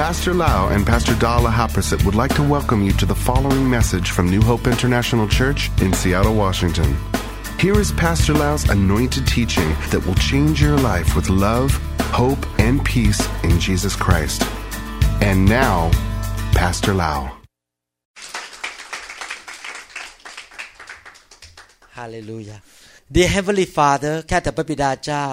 Pastor Lau and Pastor Dala Haprasit would like to welcome you to the following message from New Hope International Church in Seattle, Washington. Here is Pastor Lau's anointed teaching that will change your life with love, hope, and peace in Jesus Christ. And now, Pastor Lau. Hallelujah. Dear Heavenly Father ข้าแต่พระบิดาเจ้า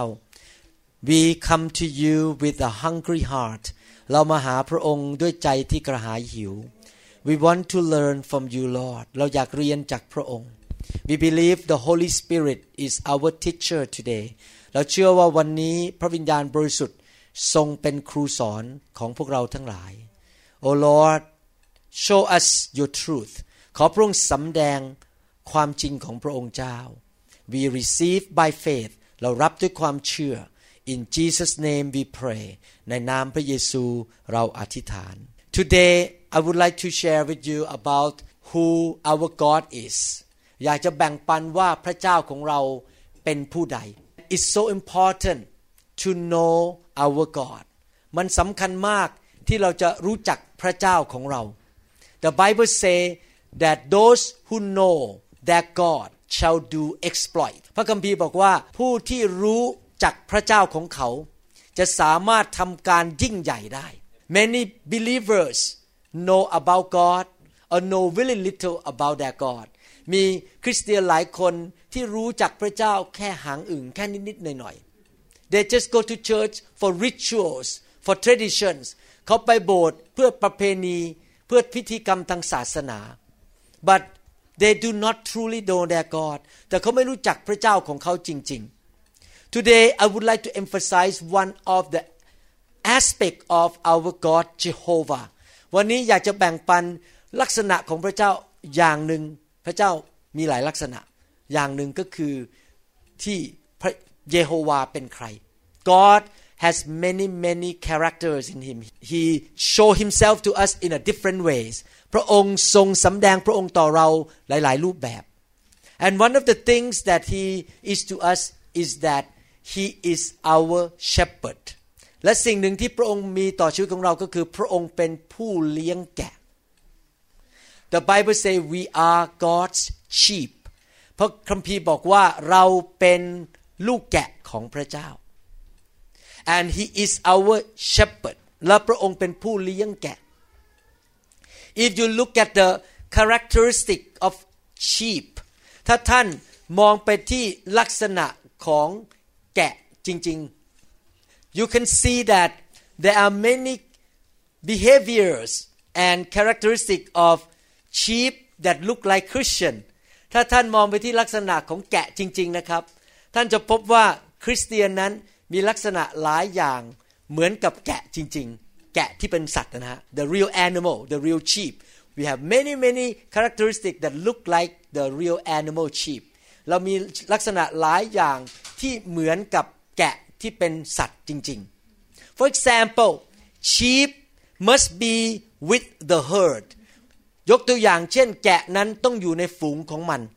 We come to you with a hungry heart เรามาหาพระองค์ด้วยใจที่กระหายหิว We want to learn from you Lord เราอยากเรียนจากพระองค์ We believe the Holy Spirit is our teacher today เราเชื่อว่าวันนี้พระวิญญาณบริสุทธิ์ทรงเป็นครูสอนของพวกเราทั้งหลาย Oh Lord show us your truth ขอพระองค์สำแดงความจริงของพระองค์เจ้า We receive by faith เรารับด้วยความเชื่อ In Jesus name we pray ในนามพระเยซูเราอธิษฐาน Today I would like to share with you about who our God is อยากจะแบ่งปันว่าพระเจ้าของเราเป็นผู้ใด It's so important to know our God มันสำคัญมากที่เราจะรู้จักพระเจ้าของเรา The Bible say that those who know their God shall do exploit พระคัมภีร์บอกว่าผู้ที่รู้จักพระเจ้าของเขาจะสามารถทำการยิ่งใหญ่ได้ Many believers know about God or know very little about their God มีคริสเตียนหลายคนที่รู้จักพระเจ้าแค่หางอึ่งแค่นิดๆหน่อยๆ They just go to church for rituals for traditions เขาไปโบสถ์เพื่อประเพณีเพื่อพิธีกรรมทางศาสนา but they do not truly know their God แต่เขาไม่รู้จักพระเจ้าของเขาจริงๆ Today I would like to emphasize one of the aspect of our God Jehovah วันนี้อยากจะแบ่งปันลักษณะของพระเจ้าอย่างหนึ่งพระเจ้ามีหลายลักษณะอย่างหนึ่งก็คือที่พระเยโฮวาเป็นใคร God has many characters in him he show himself to us in a different ways พระองค์ทรงสำแดงพระองค์ต่อเราหลายๆรูปแบบ and one of the things that he is to us is that he is our shepherd และสิ่งหนึ่งที่พระองค์มีต่อชีวิตของเราก็คือพระองค์เป็นผู้เลี้ยงแกะ The Bible say we are God's sheep พระคัมภีร์บอกว่าเราเป็นลูกแกะของพระเจ้า and he is our shepherd และพระองค์เป็นผู้เลี้ยงแกะ If you look at the characteristic of sheep ถ้าท่านมองไปที่ลักษณะของแกะจริงๆ you can see that there are many behaviors and characteristics of sheep that look like Christian ถ้าท่านมองไปที่ลักษณะของแกะจริงๆนะครับท่านจะพบว่าคริสเตียนนั้นมีลักษณะหลายอย่างเหมือนกับแกะจริงๆแกะที่เป็นสัตว์นะฮะ the real animal the real sheep we have many characteristics that look like the real animal sheep เรามีลักษณะหลายอย่างที่เหมือนกับแกะที่เป็นสัตว์จริงๆ for example sheep must be with the herd ยกตัวอย่างเช่นแกะนั้นต้องอยู่ในฝูงของมัน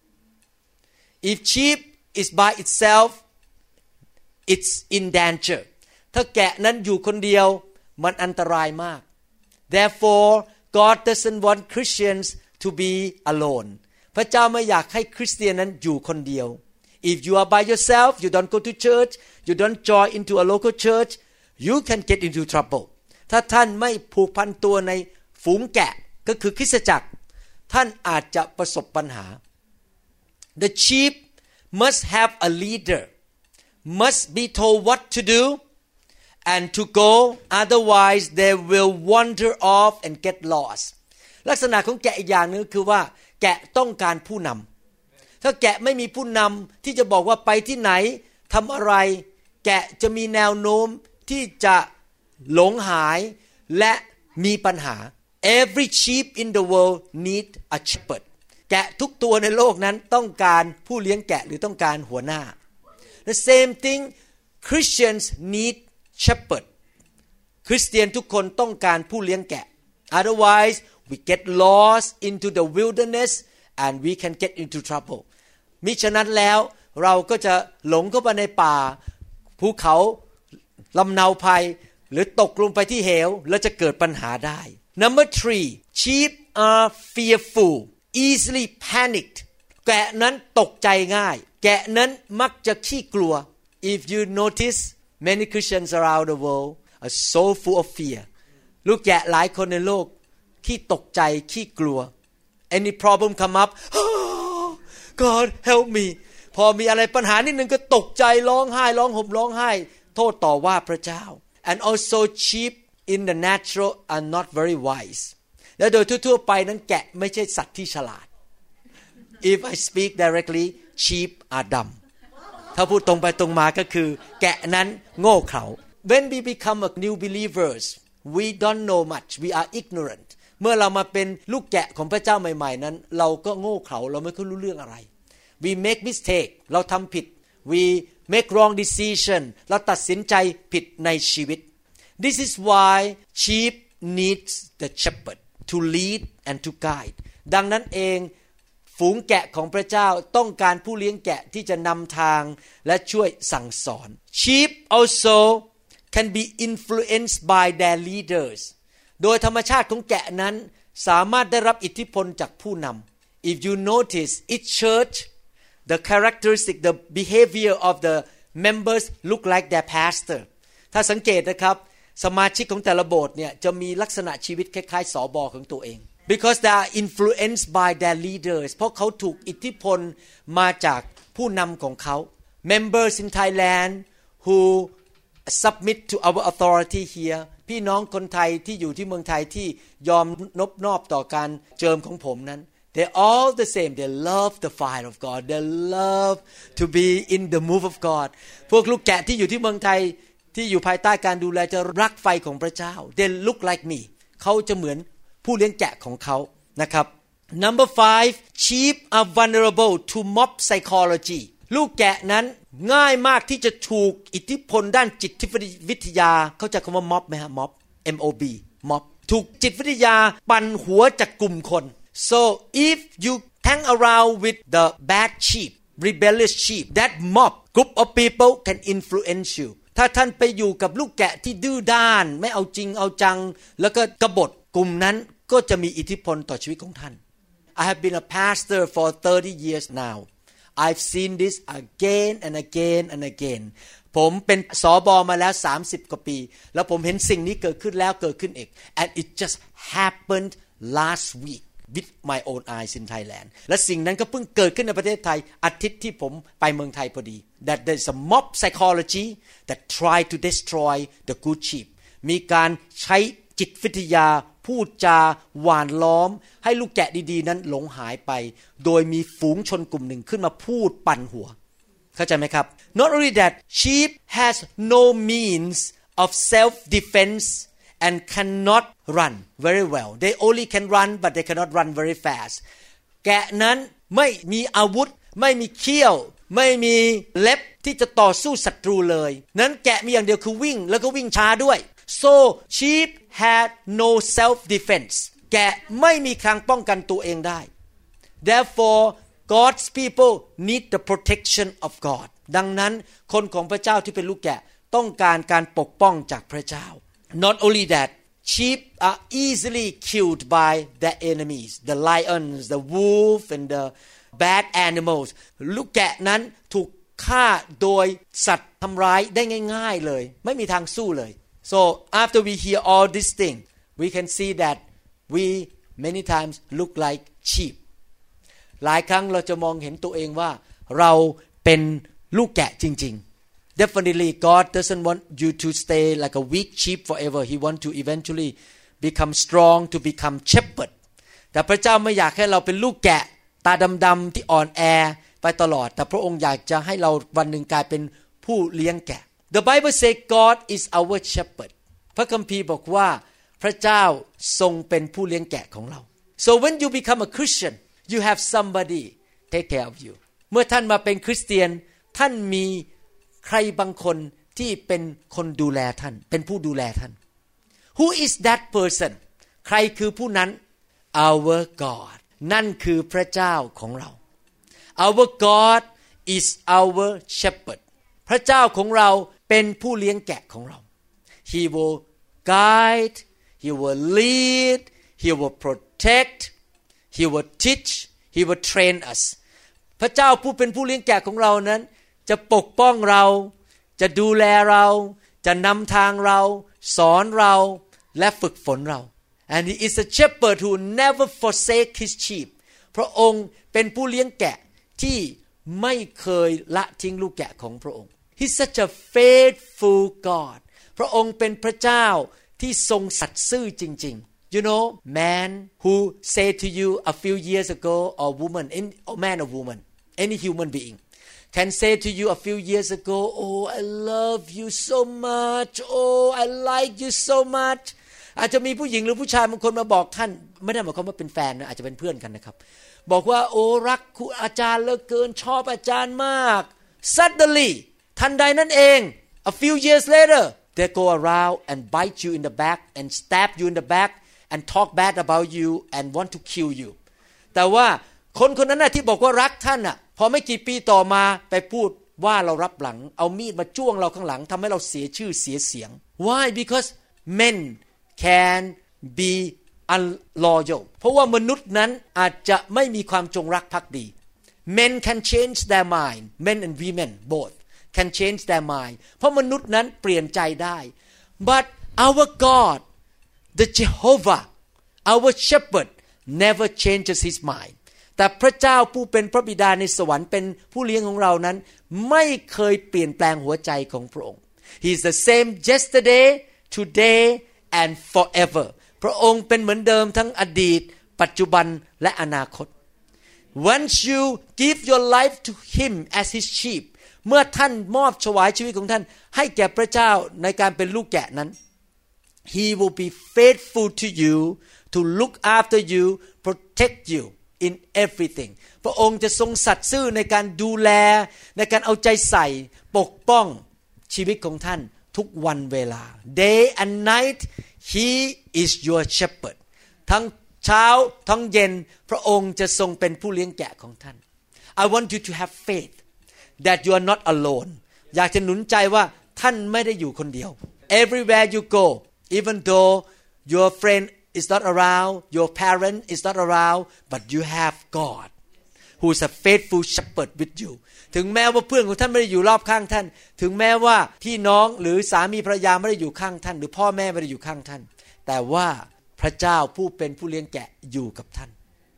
if sheep is by itself it's in danger ถ้าแกะนั้นอยู่คนเดียวมันอันตรายมาก therefore God doesn't want Christians to be alone พระเจ้าไม่อยากให้คริสเตียนนั้นอยู่คนเดียว if you are by yourself you don't go to church you don't join into a local church you can get into trouble ถ้าท่านไม่ผูกพันตัวในฝูงแกะก็คือคริสตจักรท่านอาจจะประสบปัญหา the sheep must have a leader must be told what to do and to go otherwise they will wander off and get lost ลักษณะของแกะอีกอย่างนึงคือว่าแกะต้องการผู้นำถ้าแกะไม่มีผู้นำที่จะบอกว่าไปที่ไหนทำอะไรแกะจะมีแนวโน้มที่จะหลงหายและมีปัญหา Every sheep in the world need a shepherd แกะทุกตัวในโลกนั้นต้องการผู้เลี้ยงแกะหรือต้องการหัวหน้า The same thing Christians need shepherd คริสเตียนทุกคนต้องการผู้เลี้ยงแกะ Otherwise we get lost into the wilderness and we can get into trouble มิฉะนั้นแล้วเราก็จะหลงเข้าไปในป่าภูเขาลำเนาภัยหรือตกลงไปที่เหวแล้วจะเกิดปัญหาได้ Number 3 sheep are fearful easily panicked แกะนั้นตกใจง่ายแกะนั้นมักจะขี้กลัว If you notice many Christians around the world are so full of fear ลูกแกะหลายคนในโลกขี้ตกใจขี้กลัว Any problem come up oh, God help me พอมีอะไรปัญหานิดนึงก็ตกใจร้องไห้ร้องห่มร้องไห้โทษต่อว่าพระเจ้า And also sheep in the natural are not very wise และโดยทั่วๆไปนั้นแกะไม่ใช่สัตว์ที่ฉลาด If I speak directly sheep are dumb ถ้าพูดตรงไปตรงมาก็คือแกะนั้นโง่เขลา When we become a new believers we don't know much we are ignorant เมื่อเรามาเป็นลูกแกะของพระเจ้าใหม่ๆนั้นเราก็โง่เขลาเราไม่ค่อยรู้เรื่องอะไร We make mistake เราทำผิด We make wrong decision เราตัดสินใจผิดในชีวิต This is why sheep needs the shepherd to lead and to guide ดังนั้นเองฝูงแกะของพระเจ้าต้องการผู้เลี้ยงแกะที่จะนำทางและช่วยสั่งสอน Sheep also can be influenced by their leaders โดยธรรมชาติของแกะนั้นสามารถได้รับอิทธิพลจากผู้นำ If you notice each church the characteristic the behavior of the members look like their pastor ถ้าสังเกตนะครับสมาชิกของแต่ละโบสถ์เนี่ยจะมีลักษณะชีวิตคล้ายๆสบของตัวเอง because they are influenced by their leaders เพราะเขาถูกอิทธิพลมาจากผู้นำของเขา members in Thailand who submit to our authority here พี่น้องคนไทยที่อยู่ที่เมืองไทยที่ยอมนอบต่อการเจิมของผมนั้น they're all the same they love the fire of God they love to be in the move of God พวกลูกแกะที่อยู่ที่เมืองไทยที่อยู่ภายใต้การดูแลจะรักไฟของพระเจ้า they look like me เขาจะเหมือนผู้เลี้ยงแกะของเขานะครับ Number 5 sheep are vulnerable to mob psychology ลูกแกะนั้นง่ายมากที่จะถูกอิทธิพลด้านจิตวิทยาเข้าใจคำว่า mob ไหมฮะ mob mob mob ถูกจิตวิทยาปั่นหัวจากกลุ่มคน so if you hang around with the bad sheep rebellious sheep that mob group of people can influence you ถ้าท่านไปอยู่กับลูกแกะที่ดื้อด้านไม่เอาจริงเอาจังแล้วก็กบฏกลุ่มนั้นก็จะมีอิทธิพลต่อชีวิตของท่าน I have been a pastor for 30 years now I've seen this again and again and again ผมเป็นสบมาแล้ว30กว่าปีแล้วผมเห็นสิ่งนี้เกิดขึ้นแล้วเกิดขึ้นอีก and it just happened last week with my own eyes in Thailand และสิ่งนั้นก็เพิ่งเกิดขึ้นในประเทศไทยอาทิตย์ที่ผมไปเมืองไทยพอดี that there's a mob psychology that try to destroy the good sheep มีการใช้จิตวิทยาพูดจาหวานล้อมให้ลูกแกะดีๆนั้นหลงหายไปโดยมีฝูงชนกลุ่มหนึ่งขึ้นมาพูดปั่นหัวเข้าใจไหมครับ Not only that sheep has no means of self defense and cannot run very well they only can run but they cannot run very fast แกะนั้นไม่มีอาวุธไม่มีเขี้ยวไม่มีเล็บที่จะต่อสู้ศัตรูเลยนั้นแกะมีอย่างเดียวคือวิ่งแล้วก็วิ่งช้าด้วย so sheep had no self defense แกะไม่มีทางป้องกันตัวเองได้ therefore God's people need the protection of God ดังนั้นคนของพระเจ้าที่เป็นลูกแกะต้องการการปกป้องจากพระเจ้า not only that sheep are easily killed by their enemies the lions the wolf and the bad animals ลูกแกะนั้นถูกฆ่าโดยสัตว์ทำร้ายได้ง่ายๆเลยไม่มีทางสู้เลยSo after we hear all this thing, we can see that we many times look like sheep. หลายครั้งเราจะมองเห็นตัวเองว่าเราเป็นลูกแกะจริงๆ Definitely God doesn't want you to stay like a weak sheep forever. He wants to eventually become strong to become shepherd. แต่พระเจ้าไม่อยากให้เราเป็นลูกแกะตาดำๆที่อ่อนแอไปตลอดแต่พระองค์อยากจะให้เราวันหนึ่งกลายเป็นผู้เลี้ยงแกะThe Bible says God is our shepherd พระคัมภีร์บอกว่าพระเจ้าทรงเป็นผู้เลี้ยงแกะของเรา So when you become a Christian you have somebody take care of you เมื่อท่านมาเป็นคริสเตียนท่านมีใครบางคนที่เป็นคนดูแลท่านเป็นผู้ดูแลท่าน Who is that person ใครคือผู้นั้น Our God นั่นคือพระเจ้าของเรา Our God is our shepherd พระเจ้าของเราเป็นผู้เลี้ยงแกะของเรา He will guide, He will lead, He will protect, He will teach, He will train us พระเจ้าผู้เป็นผู้เลี้ยงแกะของเรานั้นจะปกป้องเราจะดูแลเราจะนำทางเราสอนเราและฝึกฝนเรา And He is a shepherd who never forsake His sheep พระองค์เป็นผู้เลี้ยงแกะที่ไม่เคยละทิ้งลูกแกะของพระองค์ He's such a faithful God พระองค์เป็นพระเจ้าที่ทรงสัตย์ซื่อจริงๆ You know man who say to you a few years ago or woman or man or woman any human being can say to you a few years ago oh I love you so much oh I like you so much อาจจะมีผู้หญิงหรือผู้ชายบางคนมาบอกท่านไม่ได้หมายความว่าเป็นแฟนนะอาจจะเป็นเพื่อนกันนะครับบอกว่าโอ้รักครูอาจารย์เหลือเกินชอบอาจารย์มาก Suddenly ทันใดนั้นเอง a few years later they go around and bite you in the back and stab you in the back and talk bad about you and want to kill you แต่ว่าคนคนนั้นน่ะที่บอกว่ารักท่านน่ะพอไม่กี่ปีต่อมาไปพูดว่าเรารับหลังเอามีดมาจ้วงเราข้างหลังทำให้เราเสียชื่อเสียเสียง Why because men can be unloyal เพราะว่ามนุษย์นั้นอาจจะไม่มีความจงรักภักดี Men can change their mind men and women both can change their mind เพราะมนุษย์นั้นเปลี่ยนใจได้ But our God the Jehovah our shepherd never changes his mind แต่พระเจ้าผู้เป็นพระบิดาในสวรรค์เป็นผู้เลี้ยงของเรานั้นไม่เคยเปลี่ยนแปลงหัวใจของพระองค์ He is the same yesterday today and forever พระองค์เป็นเหมือนเดิมทั้งอดีตปัจจุบันและอนาคต Once you give your life to him as his sheep เมื่อท่านมอบถวายชีวิตของท่านให้แก่พระเจ้าในการเป็นลูกแกะนั้น He will be faithful to you to look after you protect you in everything พระองค์จะทรงสัตย์ซื่อในการดูแลในการเอาใจใส่ปกป้องชีวิตของท่านทุกวันเวลา Day and night He is your shepherd ทั้งเช้าทั้งเย็นพระองค์จะทรงเป็นผู้เลี้ยงแกะของท่าน I want you to have faith that you are not alone อยากจะหนุนใจว่าท่านไม่ได้อยู่คนเดียว Everywhere you go even though your friend is not around your parent is not around but you have God who is a faithful shepherd with you ถึงแม้ว่าเพื่อนของท่านไม่ได้อยู่รอบข้างท่านถึงแม้ว่าพี่น้องหรือสามีภรรยาไม่ได้อยู่ข้างท่านหรือพ่อแม่ไม่ได้อยู่ข้างท่านแต่ว่าพระเจ้าผู้เป็นผู้เลี้ยงแกะอยู่กับท่าน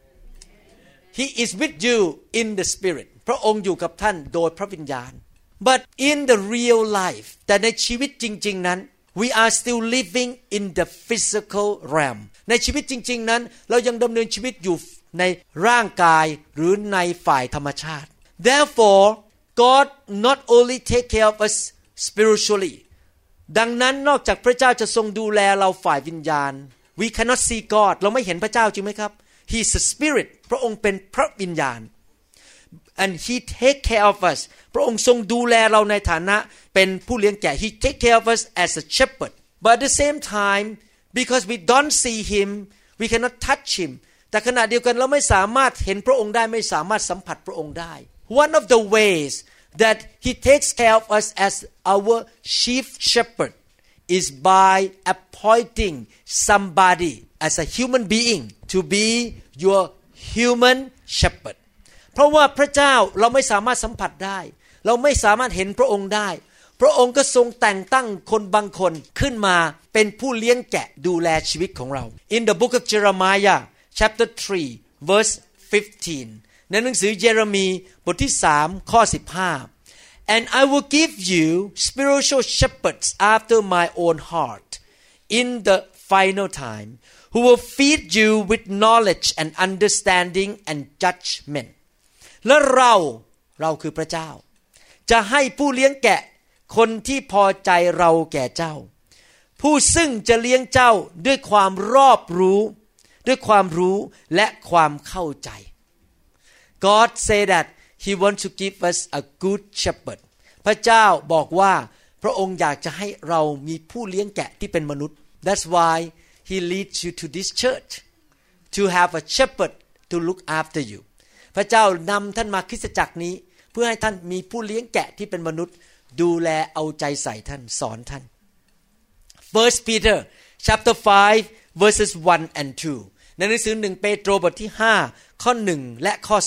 He is with you in the spirit พระองค์อยู่กับท่านโดยพระวิญญาณ But in the real life แต่ในชีวิตจริงๆนั้น We are still living in the physical realm ในชีวิตจริงๆนั้นเรายังดำเนินชีวิตอยู่ในร่างกายหรือในฝ่ายธรรมชาติ Therefore God not only take care of us spiritually ดังนั้นนอกจากพระเจ้าจะทรงดูแลเราฝ่ายวิญญาณ We cannot see God เราไม่เห็นพระเจ้าจริงไหมครับ He is a spirit พระองค์เป็นพระวิญญาณ and He take care of us พระองค์ทรงดูแลเราในฐานะเป็นผู้เลี้ยงแกะ He take care of us as a shepherd but at the same time because we don't see Him we cannot touch Him แต่ขณะเดียวกันเราไม่สามารถเห็นพระองค์ได้ไม่สามารถสัมผัสพระองค์ได้ One of the ways that He takes care of us as our chief shepherd is by appointing somebody as a human being to be your human shepherd เพราะว่าพระเจ้าเราไม่สามารถสัมผัสได้เราไม่สามารถเห็นพระองค์ได้พระองค์ก็ทรงแต่งตั้งคนบางคนขึ้นมาเป็นผู้เลี้ยงแกะดูแลชีวิตของเรา In the book of Jeremiah chapter 3 verse 15 ในหนังสือเยเรมีบทที่3ข้อ15 And I will give you spiritual shepherds after my own heart in the final time who will feed you with knowledge and understanding and judgment และเราคือพระเจ้าจะให้ผู้เลี้ยงแกะคนที่พอใจเราแก่เจ้าผู้ซึ่งจะเลี้ยงเจ้าด้วยความรอบรู้ด้วยความรู้และความเข้าใจ God say that He wants to give us a good shepherd พระเจ้าบอกว่าพระองค์อยากจะให้เรามีผู้เลี้ยงแกะที่เป็นมนุษย์ That's why He leads you to this church to have a shepherd to look after you พระเจ้านำท่านมาคริสตจักรนี้เพื่อให้ท่านมีผู้เลี้ยงแกะที่เป็นมนุษย์ดูแลเอาใจใส่ท่านสอนท่าน First Peter chapter 5 verses 1 and 2 ในหนังสือ1เปโตรบทที่5ข้อ1และข้อ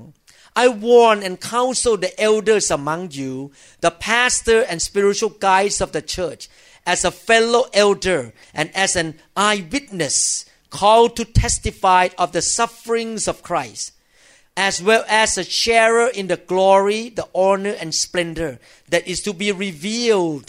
2 I warn and counsel the elders among you, the pastor and spiritual guides of the church, as a fellow elder and as an eyewitness called to testify of the sufferings of Christ, as well as a sharer in the glory, the honor and splendor that is to be revealed.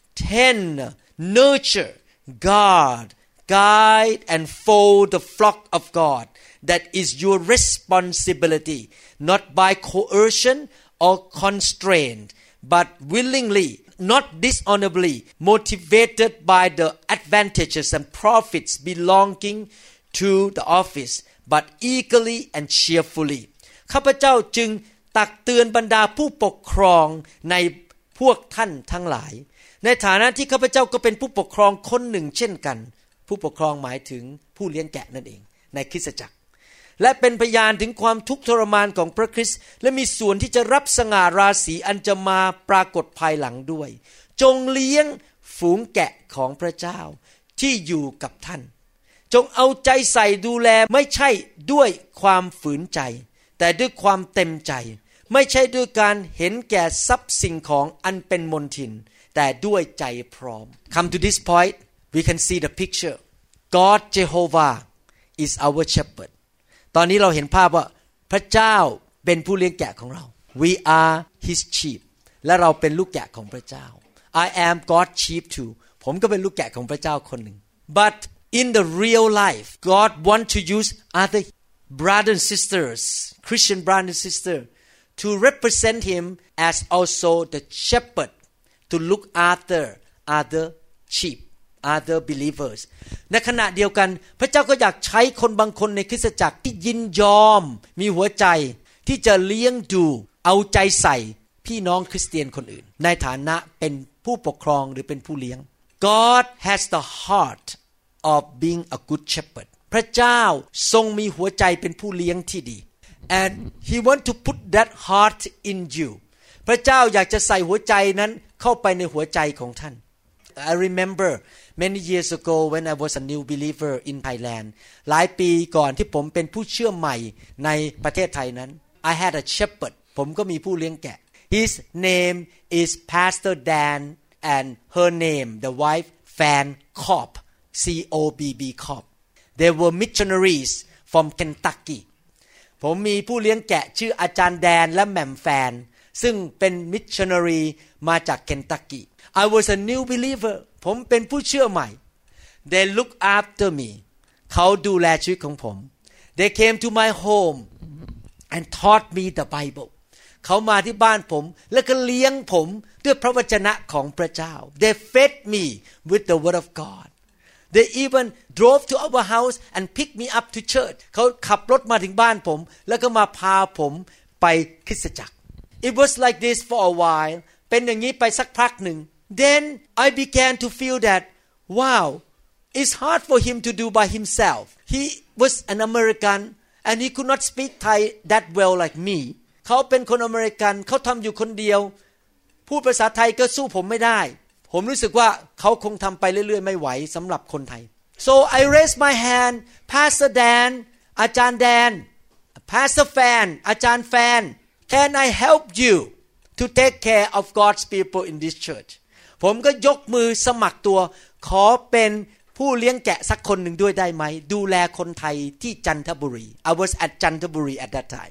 Tend, nurture, guard, guide and fold the flock of God. That is your responsibility, not by coercion or constraint, but willingly, not dishonorably, motivated by the advantages and profits belonging to the office, but eagerly and cheerfully. ข้าพเจ้าจึงตักเตือนบรรดาผู้ปกครองในพวกท่านทั้งหลายในฐานะที่ข้าพเจ้าก็เป็นผู้ปกครองคนหนึ่งเช่นกันผู้ปกครองหมายถึงผู้เลี้ยงแกะนั่นเองในคริสตจักรและเป็นพยานถึงความทุกข์ทรมานของพระคริสต์และมีส่วนที่จะรับสง่าราศีอันจะมาปรากฏภายหลังด้วยจงเลี้ยงฝูงแกะของพระเจ้าที่อยู่กับท่านจงเอาใจใส่ดูแลไม่ใช่ด้วยความฝืนใจแต่ด้วยความเต็มใจไม่ใช่ด้วยการเห็นแก่ทรัพย์สิ่งของอันเป็นมลทินแต่ด้วยใจพร้อม Come to this point we can see the picture God Jehovah is our shepherdตอนนี้เราเห็นภาพว่าพระเจ้าเป็นผู้เลี้ยงแกะของเรา We are his sheep และเราเป็นลูกแกะของพระเจ้า I am God's sheep too ผมก็เป็นลูกแกะของพระเจ้าคนหนึ่ง But in the real life God want to use other brothers and sisters Christian brothers and sisters to represent him as also the shepherd to look after other sheep other believers ในขณะเดียวกันพระเจ้าก็อยากใช้คนบางคนในคริสตจักรที่ยินยอมมีหัวใจที่จะเลี้ยงดูเอาใจใส่พี่น้องคริสเตียนคนอื่นในฐานะเป็นผู้ปกครองหรือเป็นผู้เลี้ยง God has the heart of being a good shepherd พระเจ้าทรงมีหัวใจเป็นผู้เลี้ยงที่ดี and he want to put that heart in you พระเจ้าอยากจะใส่หัวใจนั้นเข้าไปในหัวใจของท่านI remember many years ago when I was a new believer in Thailand หลายปีก่อนที่ผมเป็นผู้เชื่อใหม่ในประเทศไทยนั้น I had a shepherd ผมก็มีผู้เลี้ยงแกะ His name is Pastor Dan and her name the wife Fan Cobb C-O-B-B Cobb They were missionaries from Kentucky ผมมีผู้เลี้ยงแกะชื่ออาจารย์แดนและแหม่มแฟนซึ่งเป็น missionary มาจาก Kentucky I was a new believer ผมเป็นผู้เชื่อใหม่ They look after me เขาดูแลชีวิตของผม They came to my home and taught me the Bible เขามาที่บ้านผมแล้วก็เลี้ยงผมด้วยพระวจนะของพระเจ้า They fed me with the word of God They even drove to our house and picked me up to church เขาขับรถมาถึงบ้านผมแล้วก็มาพาผมไปคริสตจักร It was like this for a while เป็นอย่างนี้ไปสักพักหนึ่งThen I began to feel that, wow, it's hard for him to do by himself. He was an American and he could not speak Thai that well like me. เขาเป็นคนอเมริกันเขาทำอยู่คนเดียวพูดภาษาไทยก็สู้ผมไม่ได้ผมรู้สึกว่าเขาคงทำไปเรื่อยๆไม่ไหวสำหรับคนไทย So I raised my hand, Pastor Dan, อาจารย์แดน Pastor Fan, อาจารย์แฟน Can I help you to take care of God's people in this church?ผมก็ยกมือสมัครตัวขอเป็นผู้เลี้ยงแกะสักคนหนึ่งด้วยได้ไหมดูแลคนไทยที่จันทบุรี I was at จันทบุรี at that time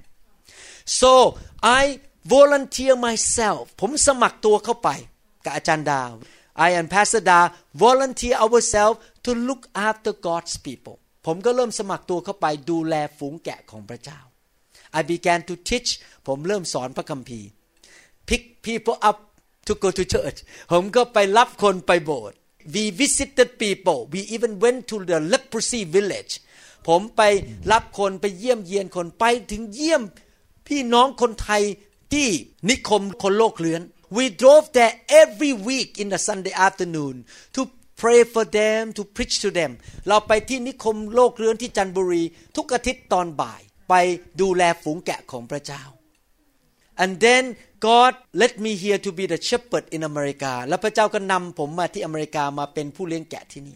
so I volunteer myself ผมสมัครตัวเข้าไปกับอาจารย์ดา I and Pastor Da volunteer ourselves to look after God's people ผมก็เริ่มสมัครตัวเข้าไปดูแลฝูงแกะของพระเจ้า I began to teach ผมเริ่มสอนพระคัมภีร์ pick people up to go to church ผมก็ไปรับคนไปโบสถ์ we visited people we even went to the leprosy village ผมไปรับคนไปเยี่ยมเยียนคนไปถึงเยี่ยมพี่น้องคนไทยที่นิคมคนโลกเลือน we drove there every week in the Sunday afternoon to pray for them to preach to them เราไปที่นิคมโลกเลือนที่จันทบุรีทุกอาทิตย์ตอนบ่ายไปดูแลฝูงแกะของพระเจ้า and then God let me here to be the shepherd in America แล้วพระเจ้าก็นำผมมาที่อเมริกามาเป็นผู้เลี้ยงแกะที่นี่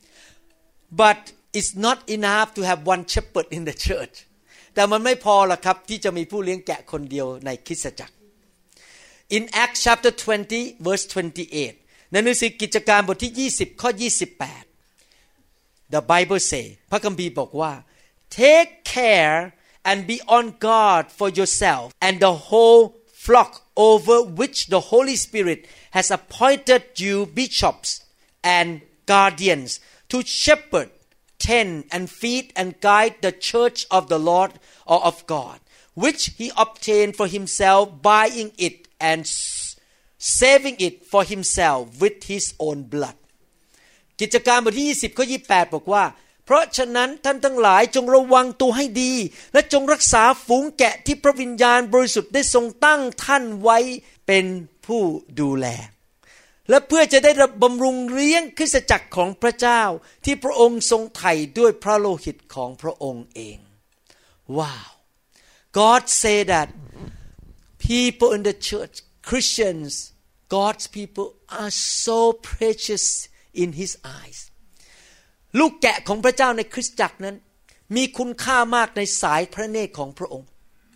but it's not enough to have one shepherd in the church แต่มันไม่พอหรอกครับที่จะมีผู้เลี้ยงแกะคนเดียวในคริสตจักร in Acts chapter 20 verse 28 ในหนังสือกิจการบทที่20ข้อ28 The Bible say พระคัมภีร์บอกว่า take care and be on guard for yourself and the whole flock over which the Holy Spirit has appointed you bishops and guardians to shepherd, tend and feed and guide the church of the Lord or of God, which he obtained for himself, buying it and saving it for himself with his own blood. กิจการบทที่20ข้อ28บอกว่าเพราะฉะนั้นท่านทั้งหลายจงระวังตัวให้ดีและจงรักษาฝูงแกะที่พระวิญญาณบริสุทธิ์ได้ทรงตั้งท่านไว้เป็นผู้ดูแลและเพื่อจะได้บำรุงเลี้ยงคริสตจักรของพระเจ้าที่พระองค์ทรงไถ่ด้วยพระโลหิตของพระองค์เองว้าว God say that people in the church Christians God's people are so precious in his eyesลูกแกะของพระเจ้าในคริสตจักรนั้นมีคุณค่ามากในสายพระเนตรของพระองค์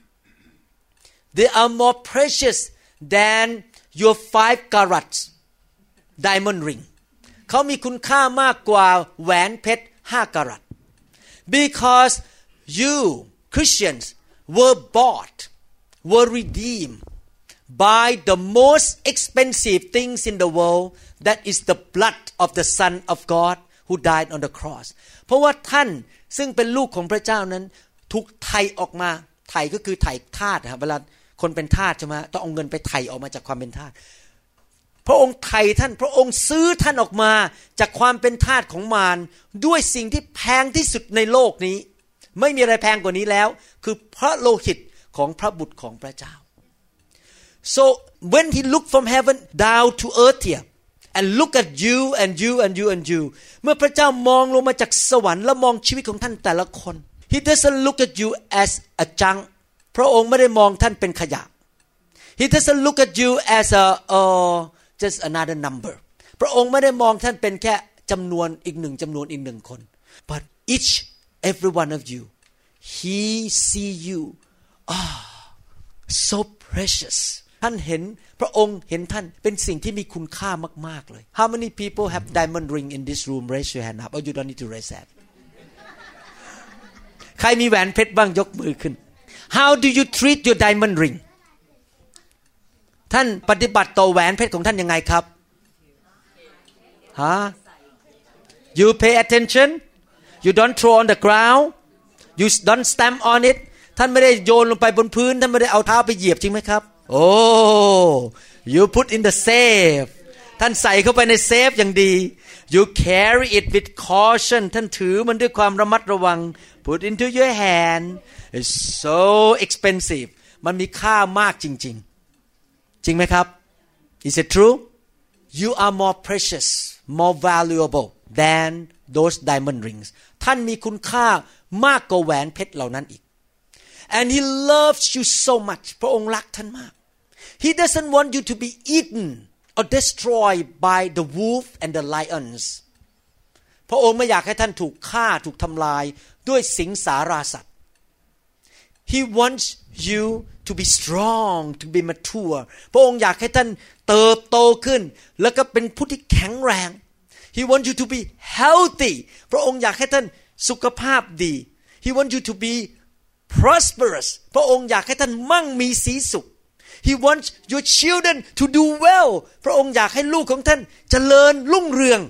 They are more precious than your 5 carats diamond ring เขามีคุณค่ามากกว่าแหวนเพชร5 กะรัต Because you Christians were bought were redeemed by the most expensive things in the world that is the blood of the Son of God who died on the cross เพราะว่าท่านซึ่งเป็นลูกของพระเจ้านั้นถูกไถ่ออกมาไถ่ก็คือไถ่ทาสนะครับเวลาคนเป็นทาสใช่ไหมต้องเอาเงินไปไถ่ออกมาจากความเป็นทาสพระองค์ไถ่ท่านพระองค์ซื้อท่านออกมาจากความเป็นทาสของมารด้วยสิ่งที่แพงที่สุดในโลกนี้ไม่มีอะไรแพงกว่านี้แล้วคือพระโลหิตของพระบุตรของพระเจ้า So when he looked from heaven down to earth here and look at you and you and you and you เมื่อพระเจ้ามองลงมาจากสวรรค์และมองชีวิตของท่านแต่ละคน He doesn't look at you as a junk พระองค์ไม่ได้มองท่านเป็นขยะ He doesn't look at you as just another number พระองค์ไม่ได้มองท่านเป็นแค่จำนวนอีกหนึ่งคน But each every one of you He see you so precious ท่านเห็นพระองค์เห็นท่านเป็นสิ่งที่มีคุณค่ามากๆเลย How many people have diamond ring in this room raise your hand up or you don't need to raise that ใครมีแหวนเพชรบ้างยกมือขึ้น How do you treat your diamond ring ท่านปฏิบัติต่อแหวนเพชรของท่านยังไงครับฮะ You pay attention You don't throw on the ground You don't stamp on it ท่านไม่ได้โยนลงไปบนพื้นท่านไม่ได้เอาเท้าไปเหยียบจริงไหมครับOh you put in the safe ท่านใส่เข้าไปในเซฟอย่างดี You carry it with caution ท่านถือมันด้วยความระมัดระวัง Put into your hand It's so expensive มันมีค่ามากจริงๆจริงไหมครับ Is it true You are more precious more valuable than those diamond rings ท่านมีคุณค่ามากกว่าแหวนเพชรเหล่านั้นอีก And he loves you so much พระองค์รักท่านมาก He doesn't want you to be eaten or destroyed by the wolf and the lions พระองค์ไม่อยากให้ท่านถูกฆ่าถูกทำลายด้วยสิงสาราสัตว์ He wants you to be strong to be mature พระองค์อยากให้ท่านเติบโตขึ้นแล้วก็เป็นผู้ที่แข็งแรง He wants you to be healthy พระองค์อยากให้ท่านสุขภาพดี He wants you to be prosperous พระองค์อยากให้ท่านมั่งมีสีสุข He wants your children to do well พระองค์อยากให้ลูกของท่านเจริญรุ่งเรือง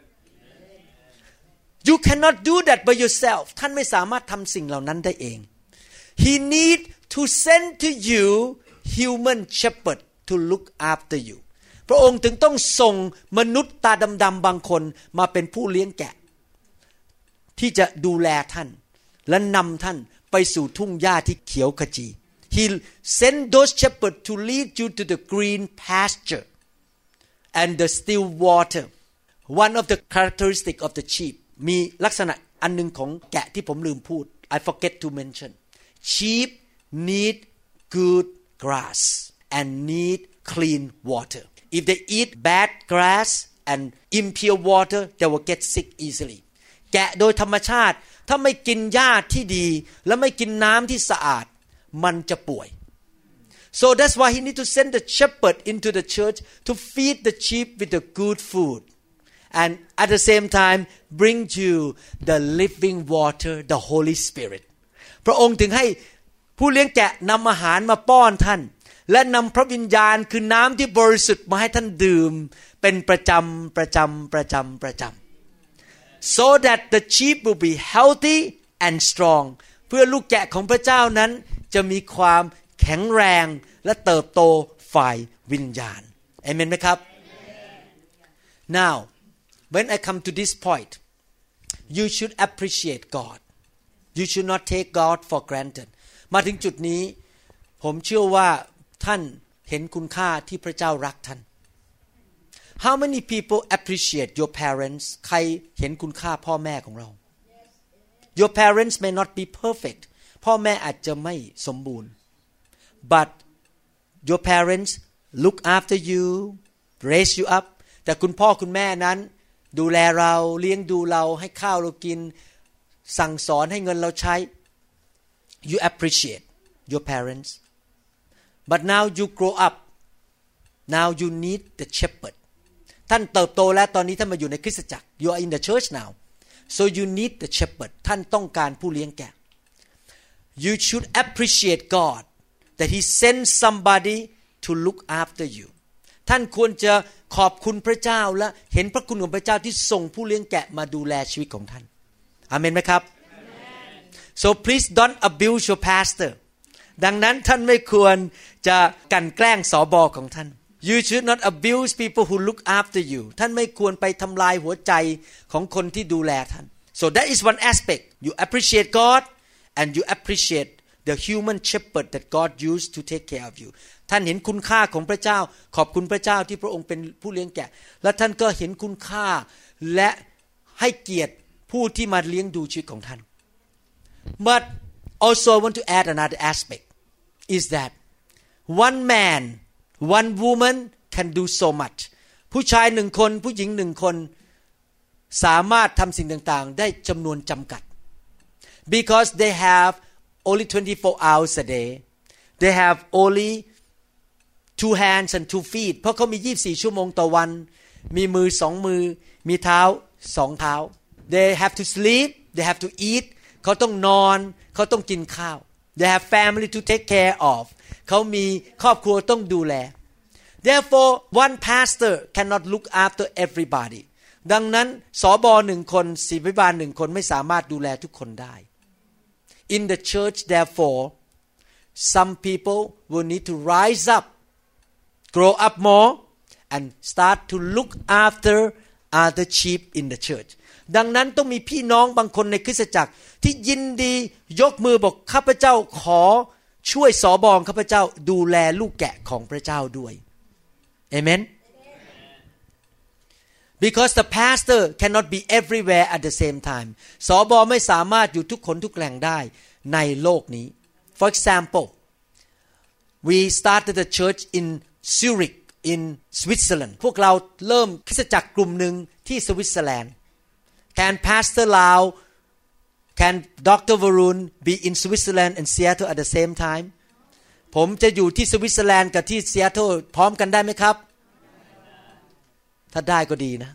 You cannot do that by yourself ท่านไม่สามารถทำสิ่งเหล่านั้นได้เอง He need to send to you human shepherd to look after you พระองค์ถึงต้องส่งมนุษย์ตาดำๆบางคนมาเป็นผู้เลี้ยงแกะที่จะดูแลท่านและนำท่านไปสู่ทุ่งหญ้าที่เขียวขจี He sent those shepherds to lead you to the green pasture and the still water. One of the characteristic of the sheep มีลักษณะอันนึงของแกะที่ผมลืมพูด I forget to mention. Sheep need good grass and need clean water. If they eat bad grass and impure water, they will get sick easily. แกะโดยธรรมชาติถ้าไม่กินหญ้าที่ดีและไม่กินน้ำที่สะอาดมันจะป่วย So that's why he need to send the shepherd into the church to feed the sheep with the good food and at the same time bring you the living water, the Holy Spirit. พระองค์ถึงให้ผู้เลี้ยงแกะนำอาหารมาป้อนท่านและนำพระวิญญาณคือน้ำที่บริสุทธิ์มาให้ท่านดื่มเป็นประจำso that the sheep will be healthy and strong เพื่อลูกแกะของพระเจ้านั้นจะมีความแข็งแรงและเติบโตฝ่ายวิญญาณเอเมนไหมครับ Now when I come to this point you should appreciate God you should not take God for granted มาถึงจุดนี้ผมเชื่อว่าท่านเห็นคุณค่าที่พระเจ้ารักท่าน How many people appreciate your parents ใครเห็นคุณค่าพ่อแม่ของเรา Your parents may not be perfect พ่อแม่อาจจะไม่สมบูรณ์ But your parents look after you raise you up แต่คุณพ่อคุณแม่นั้นดูแลเราเลี้ยงดูเราให้ข้าวเรากินสั่งสอนให้เงินเราใช้ You appreciate your parents But now you grow up now you need the shepherd ท่านเติบโตแล้วตอนนี้ท่านมาอยู่ในคริสตจักร You are in the church now so you need the shepherd ท่านต้องการผู้เลี้ยงแกะ You should appreciate God that He sends somebody to look after you ท่านควรจะขอบคุณพระเจ้าและเห็นพระคุณของพระเจ้าที่ส่งผู้เลี้ยงแกะมาดูแลชีวิตของท่านอาเมนไหมครับ So please don't abuse your pastor ดังนั้นท่านไม่ควรจะกลั่นแกล้งสบของท่าน You should not abuse people who look after you ท่านไม่ควรไปทำลายหัวใจของคนที่ดูแลท่าน So that is one aspect you appreciate God and you appreciate the human shepherd that God used to take care of you ท่านเห็นคุณค่าของพระเจ้าขอบคุณพระเจ้าที่พระองค์เป็นผู้เลี้ยงแกะและท่านก็เห็นคุณค่าและให้เกียรติผู้ที่มาเลี้ยงดูชีวิตของท่าน But also I want to add another aspect is that one man one woman can do so much ผู้ชายหนึ่งคนผู้หญิงหนึ่งคนสามารถทำสิ่งต่างๆได้จำนวนจำกัด because they have only 24 hours a day they have only 2 hands and 2 feet เพราะเขามี24ชั่วโมงต่อวันมีมือ2มือมีเท้า2เท้า they have to sleep they have to eat เขาต้องนอนเขาต้องกินข้าว they have family to take care of เขามีครอบครัวต้องดูแล therefore one pastor cannot look after everybody ดังนั้นสบ1คนศิษยาภิบาล1คนไม่สามารถดูแลทุกคนได้ in the church therefore some people will need to rise up grow up more and start to look after other sheep in the church ดังนั้นต้องมีพี่น้องบางคนในคริสตจักรที่ยินดียกมือบอกข้าพเจ้าขอช่วยสบข้าพเจ้าดูแลลูกแกะของพระเจ้าด้วยเอเมน Because the pastor cannot be everywhere at the same time สบไม่สามารถอยู่ทุกคนทุกแหล่งได้ในโลกนี้ For example we started a church in Zurich in Switzerland พวกเราเริ่มคริสตจักรกลุ่มหนึ่งที่สวิตเซอร์แลนด์ Can Pastor Lau Can Dr. Varun be in Switzerland and Seattle at the same time ผมจะอยู่ที่สวิตเซอร์แลนด์กับที่ซีแอตเทิลพร้อมกันได้ไหมครับถ้าได้ก็ดีนะ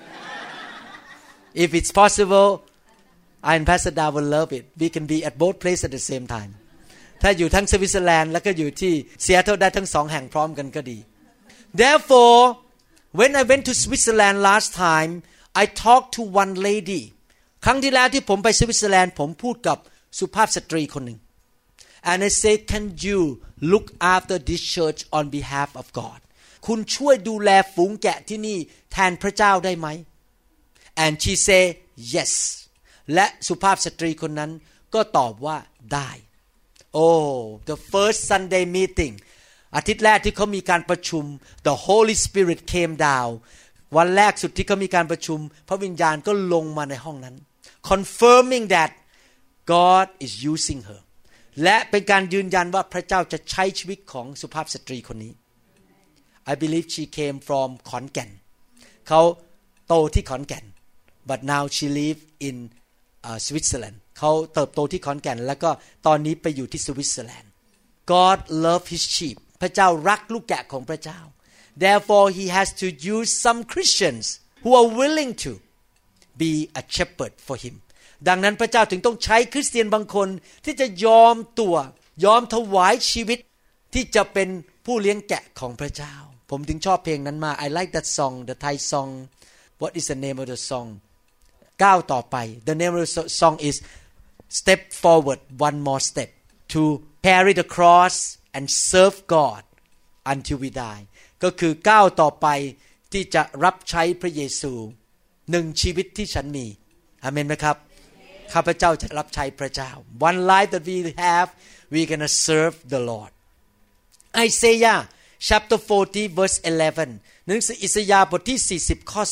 If it's possible I and Pastor Lau will love it we can be at both places at the same time ถ้าอยู่ทั้งสวิตเซอร์แลนด์แล้วก็อยู่ที่ซีแอตเทิลได้ทั้ง2แห่งพร้อมกันก็ดี Therefore when I went to Switzerland last time I talked to one lady ครั้งที่แล้วที่ผมไปสวิตเซอร์แลนด์ผมพูดกับสุภาพสตรีคนหนึ่ง and I said can you look after this church on behalf of God คุณช่วยดูแลฝูงแกะที่นี่แทนพระเจ้าได้ไหม and she said yes และสุภาพสตรีคนนั้นก็ตอบว่าได้ Oh the first Sunday meeting อาทิตย์แรกที่เขามีการประชุม the Holy Spirit came down วันแรกสุดที่เขามีการประชุมพระวิญญาณก็ลงมาในห้องนั้น confirming that God is using her และเป็นการยืนยันว่าพระเจ้าจะใช้ชีวิตของสุภาพสตรีคนนี้ I believe she came from ขอนแก่นเขาโตที่ขอนแก่น but now she live in Switzerland เขาเติบโตที่ขอนแก่นแล้วก็ตอนนี้ไปอยู่ที่สวิตเซอร์แลนด์ God love his sheep พระเจ้ารักลูกแกะของพระเจ้า Therefore he has to use some Christians who are willing to be a shepherd for him ดังนั้นพระเจ้าถึงต้องใช้คริสเตียนบางคนที่จะยอมถวายชีวิตที่จะเป็นผู้เลี้ยงแกะของพระเจ้าผมถึงชอบเพลงนั้นมาก I like that song the Thai song What is the name of the song ก้าวต่อไป The name of the song is Step forward one more step to carry the cross and serve God until we die ก็คือก้าวต่อไปที่จะรับใช้พระเยซูหนึ่งชีวิตที่ฉันมีอาเมนไหมครับข้าพเจ้าจะรับใช้พระเจ้า One life that we have we're gonna serve the Lord Isaiah chapter 40 verse 11 หนังสืออิสยาห์บทที่40ข้อ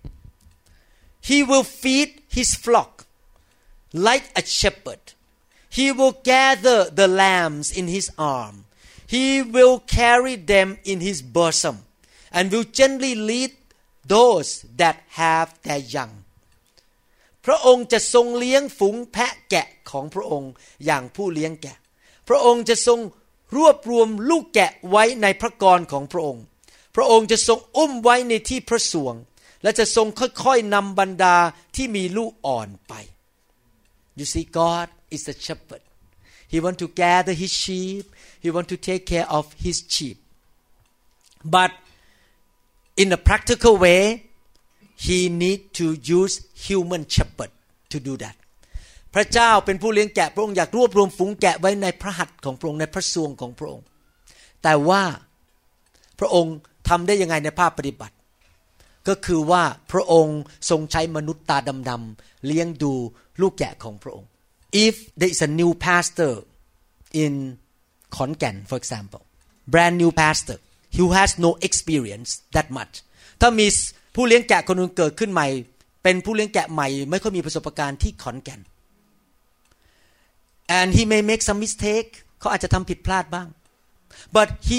11 He will feed his flock like a shepherd He will gather the lambs in his arm He will carry them in his bosom and will gently lead those that have their young พระองค์จะทรงเลี้ยงฝูงแพะแกะของพระองค์อย่างผู้เลี้ยงแกะพระองค์จะทรงรวบรวมลูกแกะไว้ในพระกรของพระองค์พระองค์จะทรงอุ้มไว้ในที่พระสวงและจะทรงค่อยๆนำบรรดาที่มีลูกอ่อนไป You see God is the shepherd He want to gather his sheep He want to take care of his sheep but in a practical way He need to use human shepherd to do that พระเจ้าเป็นผู้เลี้ยงแกะพระองค์อยากรวบรวมฝูงแกะไว้ในพระหัตถ์ของพระองค์ในพระทรวงของพระองค์แต่ว่าพระองค์ทำได้ยังไงในภาคปฏิบัติก็คือว่าพระองค์ทรงใช้มนุษย์ตาดำๆเลี้ยงดูลูกแกะของพระองค์ If there is a new pastor in ขอนแก่น for example brand new pastor who has no experience that much ถ้ามีผู้เลี้ยงแกะคนนึงเกิดขึ้นใหม่เป็นผู้เลี้ยงแกะใหม่ไม่ค่อยมีประสบการณ์ที่ขอนแก่น and he may make some mistake เขาอาจจะทำผิดพลาดบ้าง but he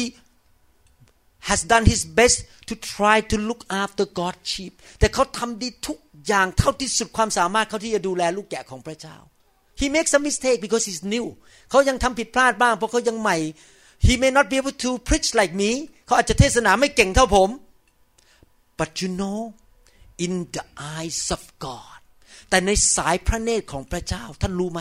has done his best to try to look after God's sheep แต่เขาทำดีทุกอย่างเท่าที่สุดความสามารถเขาที่จะดูแลลูกแกะของพระเจ้า he makes some mistake because he's new เขายังทำผิดพลาดบ้างเพราะเขายังใหม่ he may not be able to preach like me เขาอาจจะเทศนาไม่เก่งเท่าผม but you know in the eyes of God แต่ในสายพระเนตรของพระเจ้าท่านรู้ไหม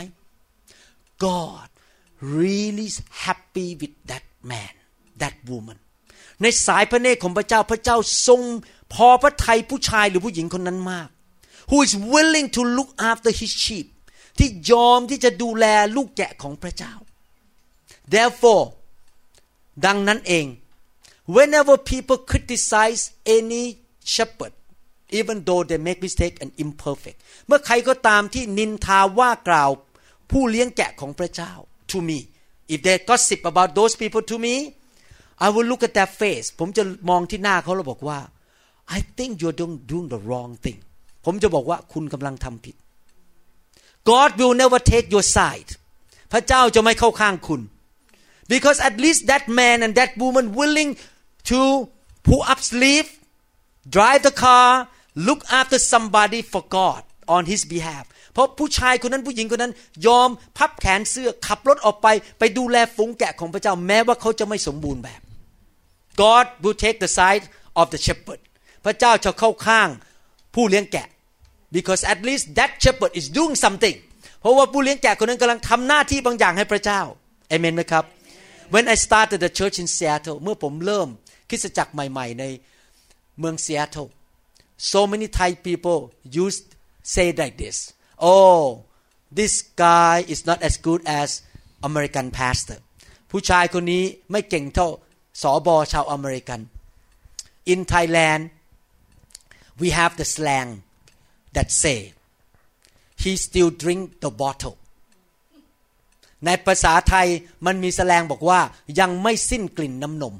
God really is happy with that man that woman ในสายพระเนตรของพระเจ้าพระเจ้าทรงพอพระทัยผู้ชายหรือผู้หญิงคนนั้นมาก who is willing to look after his sheep ที่ยอมที่จะดูแลลูกแกะของพระเจ้า therefore ดังนั้นเอง whenever people criticize any shepherd even though they make mistake and imperfect เมื่อใครก็ตามที่นินทาว่ากล่าวผู้เลี้ยงแกะของพระเจ้า to me if they gossip about those people to me I will look at their face ผมจะมองที่หน้าเขาแล้วบอกว่า I think you're doing the wrong thing ผมจะบอกว่าคุณกำลังทำผิด God will never take your side พระเจ้าจะไม่เข้าข้างคุณ because at least that man and that woman willing to pull up sleeve drive the car look after somebody for God on his behalf เพราะผู้ชายคนนั้นผู้หญิงคนนั้นยอมพับแขนเสื้อขับรถออกไปดูแลฝูงแกะของพระเจ้าแม้ว่าเขาจะไม่สมบูรณ์แบบ God will take the side of the shepherd พระเจ้าจะเข้าข้างผู้เลี้ยงแกะ because at least that shepherd is doing something เพราะว่าผู้เลี้ยงแกะคนนั้นกำลังทำหน้าที่บางอย่างให้พระเจ้าเอเมนไหมครับ When I started the church in Seattle เมื่อผมเริ่มคริสตจักรใหม่ๆในเมือง Seattle so many Thai people used say like this oh this guy is not as good as American pastor ผู้ชายคนนี้ไม่เก่งเท่าสบชาวอเมริกัน in Thailand we have the slang that say he still drink the bottle ในภาษาไทยมันมีแสลงบอกว่ายังไม่สิ้นกลิ่นน้ำนม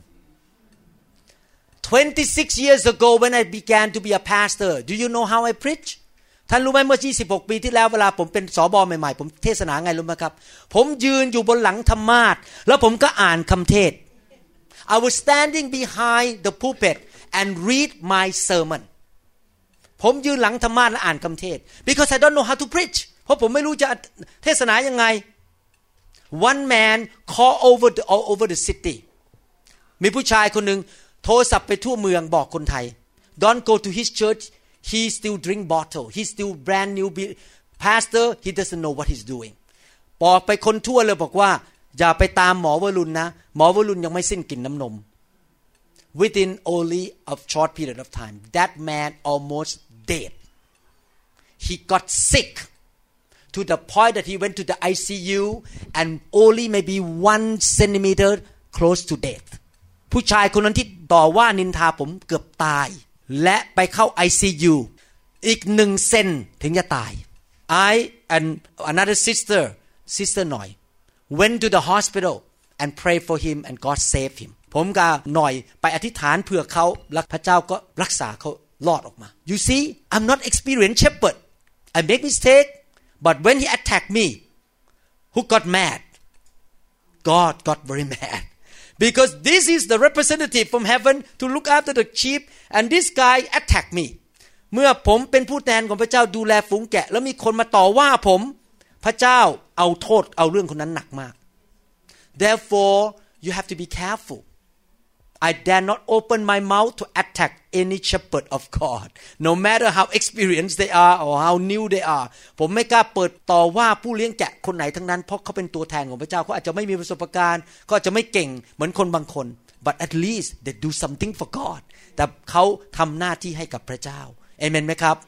26 years ago when I began to be a pastor do you know how I preach ท่านรู้ไหมเมื่อ26ปีที่แล้วเวลาผมเป็นสบใหม่ๆผมเทศนาไงรู้ไหมครับผมยืนอยู่บนหลังธรรมาสน์แล้วผมก็อ่านคำเทศ I was standing behind the pulpit and read my sermon ผมยืนหลังธรรมาสน์และอ่านคำเทศ because I don't know how to preach เพราะผมไม่รู้จะเทศนายังไง One man called all over the city มีผู้ชายคนหนึ่งโทรศัพท์ไปทั่วเมืองบอกคนไทย Don't go to his church he still drink bottle he still brand new pastor he doesn't know what he's doing บอกไปคนทั่วเลยบอกว่าอย่าไปตามหมอวรุณนะหมอวรุณยังไม่สิ้นกลิ่นน้ำนม Within only a short period of time that man almost dead he got sick to the point that he went to the ICU and only maybe 1 centimeter close to death ผู้ชายคนนั้นที่ต่อว่านินทาผมเกือบตายและไปเข้า ICU อีก1เซนถึงจะตาย I and another sister หน่อย went to the hospital and prayed for him and God saved him ผมกับหน่อยไปอธิษฐานเพื่อเขาและพระเจ้าก็รักษาเขารอดออกมา You see I'm not experienced shepherd I make mistake but when he attacked me who got mad God got very mad because this is the representative from heaven to look after the sheep and this guy attacked me เมื่อผมเป็นผู้แทนของพระเจ้าดูแลฝูงแกะแล้วมีคนมาต่อว่าผมพระเจ้าเอาโทษเอาเรื่องคนนั้นหนักมาก Therefore you have to be careful I dare not open my mouth to attack any shepherd of God no matter how experienced they are or how new they are ผมไม่กล้าเปิดต่อว่าผู้เลี้ยงแกะคนไหนทั้งนั้นเพราะเขาเป็นตัวแทนของพระเจ้าเขาอาจจะไม่มีประสบการณ์เขาอาจจะไม่เก่งเหมือนคนบางคน but at least they do something for God แต่เขาทำหน้าที่ให้กับพระเจ้าเอเมนไหมครับ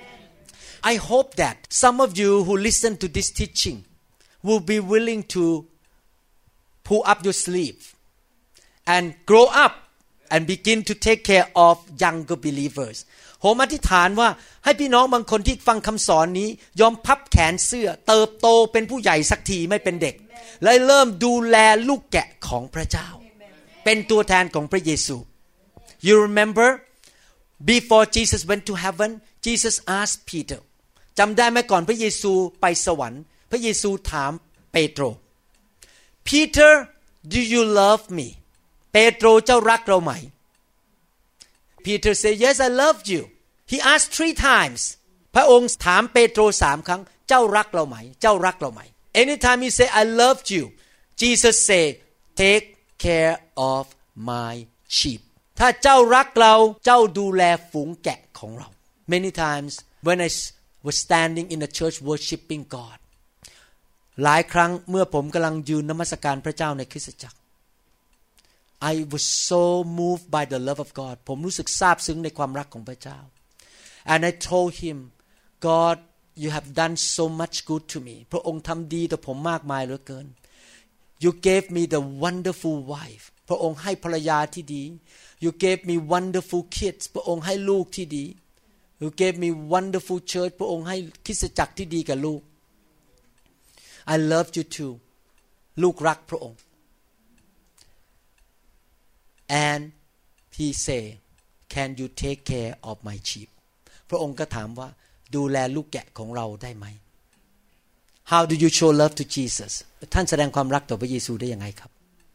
I hope that some of you who listen to this teaching will be willing to pull up your sleeve and grow up and begin to take care of younger believers ผมอธิษฐานว่าให้พี่น้องบางคนที่ฟังคำสอนนี้ยอมพับแขนเสื้อเติบโตเป็นผู้ใหญ่สักทีไม่เป็นเด็กและเริ่มดูแลลูกแกะของพระเจ้าเป็นตัวแทนของพระเยซู You remember before Jesus went to heaven Jesus asked Peter จำได้ไหมก่อนพระเยซูไปสวรรค์พระเยซูถามเปโตร Peter do you love meเปโตรเจ้ารักเราไหม Peter said yes I love you he asked 3 times พระองค์ถามเปโตร3 ครั้งเจ้ารักเราไหมเจ้ารักเราไหม anytime he say I love you Jesus say take care of my sheep ถ้าเจ้ารักเราเจ้าดูแลฝูงแกะของเรา many times when I was standing in the church worshiping God หลายครั้งเมื่อผมกำลังยืนนมัสการพระเจ้าในคริสตจักรI was so moved by the love of God ผมรู้สึกซาบซึ้งในความรักของพระเจ้า and I told him God you have done so much good to me พระองค์ทำดีต่อผมมากมายเหลือเกิน you gave me the wonderful wife พระองค์ให้ภรรยาที่ดี you gave me wonderful kids พระองค์ให้ลูกที่ดี you gave me wonderful church พระองค์ให้คริสตจักรที่ดีกับลูก I love you too ลูกรักพระองค์And he say, "Can you take care of my sheep?" พระองค์ก็ถามว่าดูแลลูกแกะของเราได้ไหม How do you show love to Jesus? ท่านแสดงความรักต่อพระเยซูได้ยังไงครับ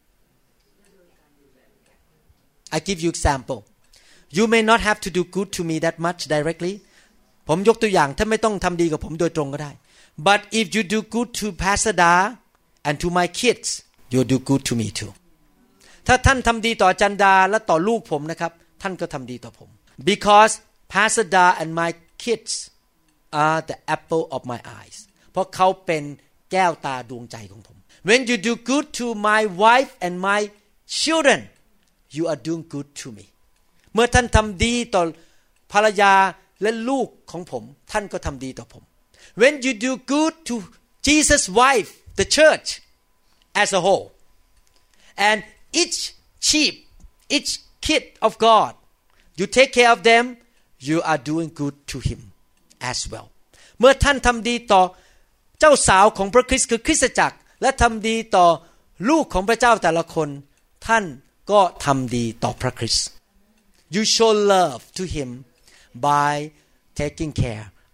I give you example. You may not have to do good to me that much directly. ผมยกตัวอย่างท่านไม่ต้องทำดีกับผมโดยตรงก็ได้ But if you do good to Pastor Da and to my kids, you do good to me too.ถ้าท่านทำดีต่อจันดาและต่อลูกผมนะครับท่านก็ทำดีต่อผม because Pastor Da and my kids are the apple of my eyes เพราะเขาเป็นแก้วตาดวงใจของผม when you do good to my wife and my children you are doing good to me เมื่อท่านทำดีต่อภรรยาและลูกของผมท่านก็ทำดีต่อผม when you do good to Jesus' wife the church as a whole and each sheep each kid of God you take care of them you are doing good to him as well เมื่อท่านทำดีต่อเจ้าสาวของพระคริสต์คือคริสตจักรและทำดีต่อลูกของพระเจ้าแต่ละคนท่านก็ทำดีต่อพระคริสต์ you show love to him by taking care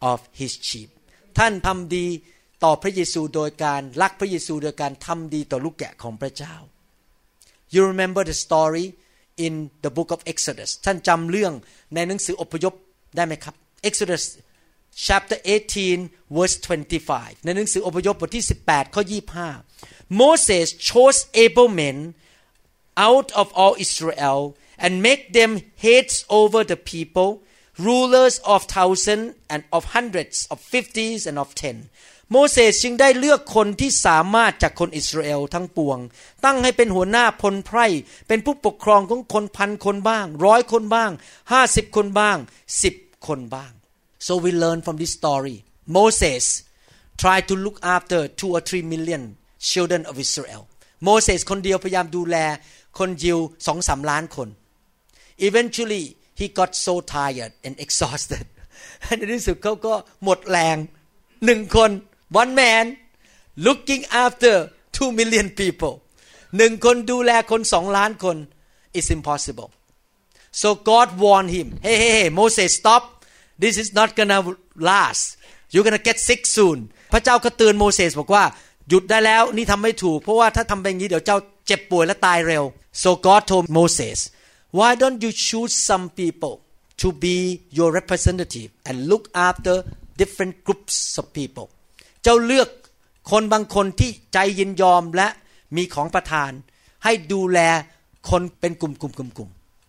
of his sheep ท่านทำดีต่อพระเยซูโดยการรักพระเยซูโดยการทำดีต่อลูกแกะของพระเจ้า You remember the story in the book of Exodus ท่านจำเรื่องในหนังสืออพยพได้ไหมครับ Exodus chapter 18 verse 25 ในหนังสืออพยพบทที่18ข้อ25 Moses chose able men out of all Israel and make them heads over the people rulers of thousands and of hundreds of fifties and of ten โมเสสจึงได้เลือกคนที่สามารถจากคนอิสราเอลทั้งปวงตั้งให้เป็นหัวหน้าพลไพร่เป็นผู้ปกครองของคนพันคนบ้าง100คนบ้าง50คนบ้าง10คนบ้าง So we learn from this story Moses tried to look after 2 or 3 million children of Israel โมเสสคนเดียวพยายามดูแลคนยิว 2-3 ล้านคน Eventually he got so tired and exhausted ในที่สุดเขาก็หมดแรง1คน one man looking after 2 million people 1คนดูแลคน2ล้านคน is impossible so God warned him hey Moses stop this is not gonna last you're gonna get sick soon พระเจ้าก็เตือนโมเสสบอกว่าหยุดได้แล้วนี่ทำไม่ถูกเพราะว่าถ้าทำแบบนี้เดี๋ยวเจ้าเจ็บป่วยและตายเร็ว so God told Moses why don't you choose some people to be your representative and look after different groups of people เจ้าเลือกคนบางคนที่ใจยินยอมและมีของประทานให้ดูแลคนเป็นกลุ่ม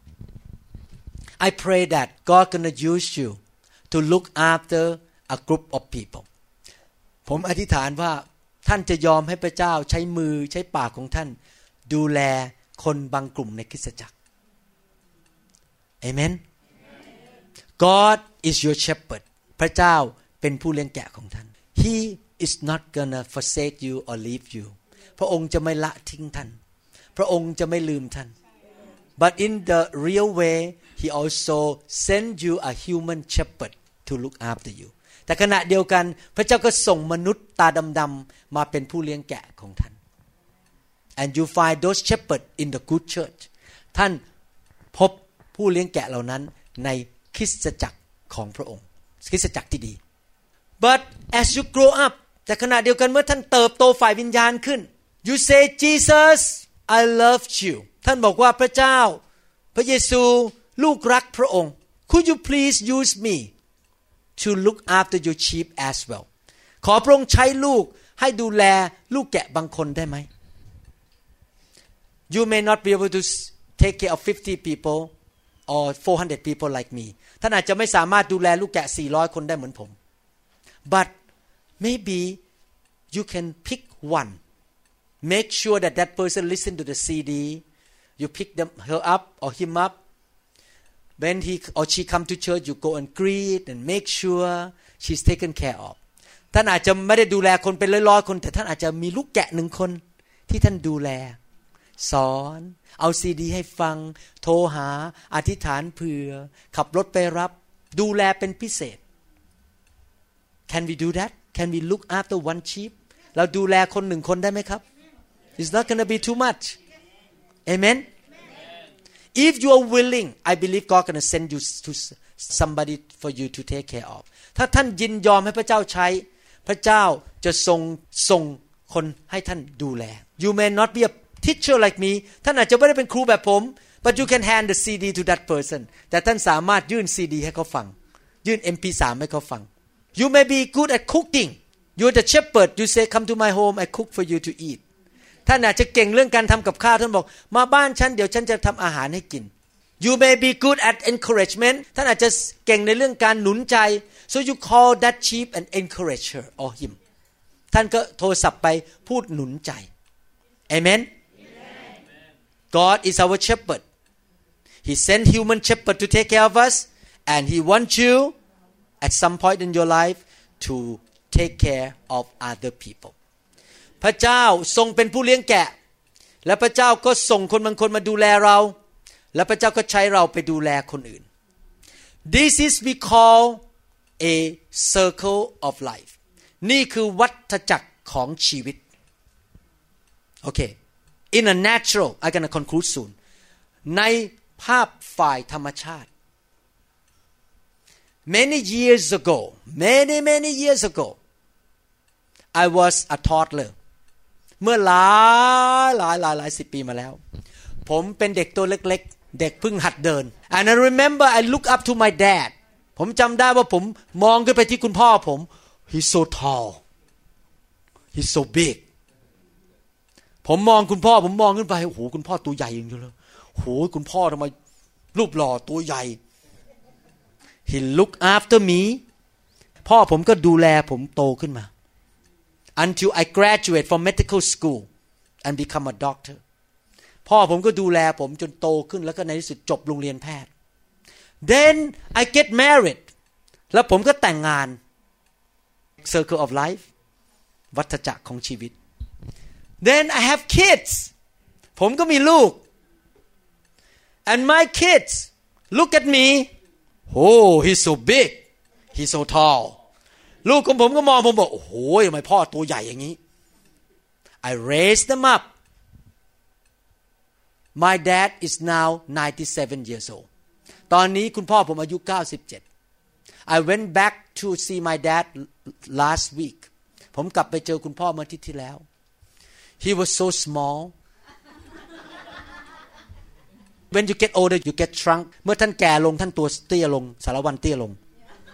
I pray that God gonna use you to look after a group of people ผมอธิษฐานว่าท่านจะยอมให้พระเจ้าใช้มือใช้ปากของท่านดูแลคนบางกลุ่มในคริสตจักร Amen God is your shepherd พระเจ้าเป็นผู้เลี้ยงแกะของท่าน He is not gonna forsake you or leave you พระองค์จะไม่ละทิ้งท่านพระองค์จะไม่ลืมท่าน But in the real way He also send you a human shepherd to look after you แต่ขณะเดียวกันพระเจ้าก็ส่งมนุษย์ตาดำๆมาเป็นผู้เลี้ยงแกะของท่าน And you find those shepherds in the good church ท่านพบผู้เลี้ยงแกะเหล่านั้นในคริสตจักรของพระองค์คริสตจักรที่ดี But as you grow up แต่ขณะเดียวกันเมื่อท่านเติบโตฝ่ายวิญญาณขึ้น You say Jesus I love you ท่านบอกว่าพระเจ้าพระเยซูลูกรักพระองค์ Could you please use me to look after your sheep as well ขอพระองค์ใช้ลูกให้ดูแลลูกแกะบางคนได้ไหม You may not be able to take care of 50 people or 400 people like me ท่านอาจจะไม่สามารถดูแลลูกแกะ400คนได้เหมือนผม But maybe you can pick one make sure that that person listen to the CD you pick her up or him up when he or she come to church you go and greet and make sure she's taken care of ท่านอาจจะไม่ได้ดูแลคนเป็นร้อยๆคนแต่ท่านอาจจะมีลูกแกะ1คนที่ท่านดูแลสอนเอาซีดีให้ฟังโทรหาอธิษฐานเผื่อขับรถไปรับดูแลเป็นพิเศษ Can we do that? Can we look after one sheep? เราดูแลคน1คนได้ไหมครับ It's not gonna be too much. Amen? If you are willing, I believe God gonna send you to somebody for you to take care of. ถ้าท่านยินยอมให้พระเจ้าใช้พระเจ้าจะส่งคนให้ท่านดูแล You may not be a teacher like me ท่านอาจจะไม่ได้เป็นครูแบบผม but you can hand the CD to that person แต่ท่านสามารถยื่น CD ให้เขาฟังยื่น MP3 ให้เขาฟัง You may be good at cooking You're the shepherd you say come to my home I cook for you to eat ท่านอาจจะเก่งเรื่องการทำกับข้าวท่านบอกมาบ้านฉันเดี๋ยวฉันจะทำอาหารให้กิน You may be good at encouragement ท่านอาจจะเก่งในเรื่องการหนุนใจ so you call that sheep and encourage her or him ท่านก็โทรศัพท์ไปพูดหนุนใจ Amen God is our shepherd He sent human shepherd to take care of us and He wants you at some point in your life to take care of other people พระเจ้าทรงเป็นผู้เลี้ยงแกะและพระเจ้าก็ส่งคนบางคนมาดูแลเราและพระเจ้าก็ใช้เราไปดูแลคนอื่น This is we call a circle of life นี่คือวัฏจักรของชีวิตโอเค In a natural I'm gonna conclude soon ในภาพฝ่ายธรรมชาติ Many years ago, many years ago, I was a toddler. เมื่อหลายสิบปีมาแล้วผมเป็นเด็กตัวเล็กๆเด็กเพิ่งหัดเดิน And I remember I look up to my dad ผมจำได้ว่าผมมองขึ้นไปที่คุณพ่อผม He's so tall He's so big ผมมองคุณพ่อผมมองขึ้นไปโอ้โหคุณพ่อตัวใหญ่จริงๆเลยโอ้โหคุณพ่อทำไมรูปหล่อตัวใหญ่ He looked after me พ่อผมก็ดูแลผมโตขึ้นมา until I graduate from medical school and become a doctor พ่อผมก็ดูแลผมจนโตขึ้นแล้วก็ในที่สุดจบโรงเรียนแพทย์ then I get married แล้วผมก็แต่งงาน circle of life วัฏจักรของชีวิต then I have kids ผมก็มีลูก and my kids look at me oh he's so big he's so tall ลูกของผมก็มองผมบอกโอ้โหทำไมพ่อตัวใหญ่อย่างนี้ I raised them up my dad is now 97 years old ตอนนี้คุณพ่อผมอายุ97 I went back to see my dad last week ผมกลับไปเจอคุณพ่อเมื่ออาทิตย์ที่แล้ว he was so small when you get older you get shrunk เมื่อท่านแก่ลงท่านตัวเตี้ยลงสารวัตรเตี้ยลง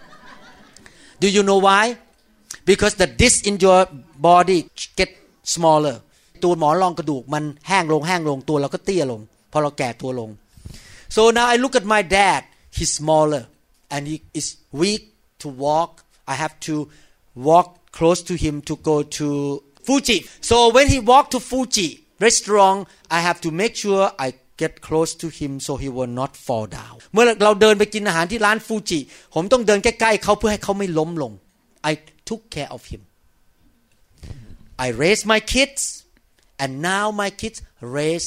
Do you know why? Because the disc in your body get smaller. ตัวหมอนรองกระดูกมันแห้งลงตัวเราก็เตี้ยลงพอเราแก่ตัวลง So now I look at my dad. He's smaller and he is weak to walk. I have to walk close to him to go to Fuji. So when he walk to Fuji restaurant, I have to make sure I get close to him so he will not fall down เมื่อเราเดินไปกินอาหารที่ร้านฟูจิผมต้องเดินใกล้ๆเขาเพื่อให้เขาไม่ล้มลง I took care of him I raised my kids and now my kids raise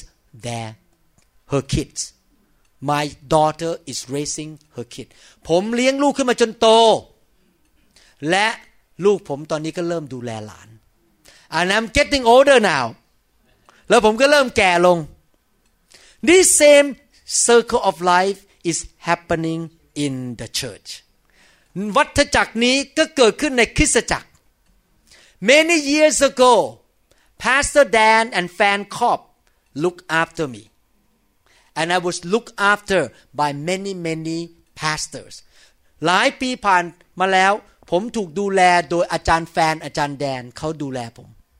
her kids my daughter is raising her kid ผมเลี้ยงลูกขึ้นมาจนโตและลูกผมตอนนี้ก็เริ่มดูแลหลาน and I'm getting older now แล้วผมก็เริ่มแก่ลงThis same circle of life is happening in the church. วัฏจักรนี้ก็เกิดขึ้นในคริสตจักร Many years ago, Pastor Dan and Fan Kopp looked after me, and I was looked after by many pastors. หลายปีผ่านมาแล้วผมถูกดูแลโดยอาจารย์แฟนอาจารย์แดนเขาดูแลผม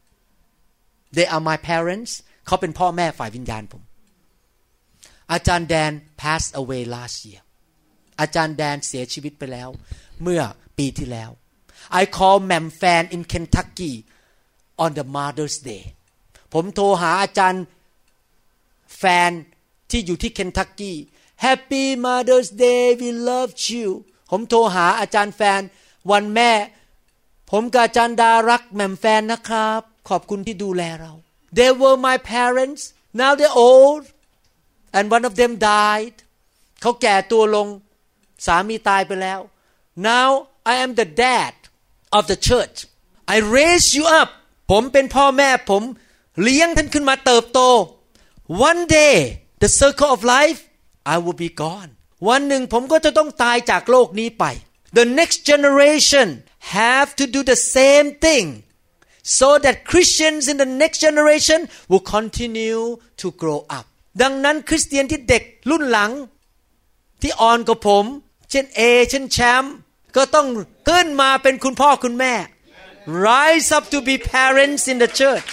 They are my parents. เขาเป็นพ่อแม่ฝ่ายวิญญาณผมอาจารย์แดน passed away last year อาจารย์แดนเสียชีวิตไปแล้วเมื่อปีที่แล้ว I call Ma'am Fan in Kentucky on the Mother's Day ผมโทรหาอาจารย์แฟนที่อยู่ที่ Kentucky Happy Mother's Day we love you ผมโทรหาอาจารย์แฟนวันแม่ผมกับอาจารย์ดารักแม่มแฟนนะครับขอบคุณที่ดูแลเรา They were my parents now they're old and one of them died เขาแก่ตัวลงสามีตายไปแล้ว now I am the dad of the church I raise you up ผมเป็นพ่อแม่ผมเลี้ยงท่านขึ้นมาเติบโต one day the circle of life I will be gone วันหนึ่งผมก็จะต้องตายจากโลกนี้ไป the next generation have to do the same thing so that Christians in the next generation will continue to grow upดังนั้นคริสเตียนที่เด็กรุ่นหลังที่อ่อนกว่าผมเช่นเช่นแชมป์ก็ต้องขึ้นมาเป็นคุณพ่อคุณแม่ Rise up to be parents in the church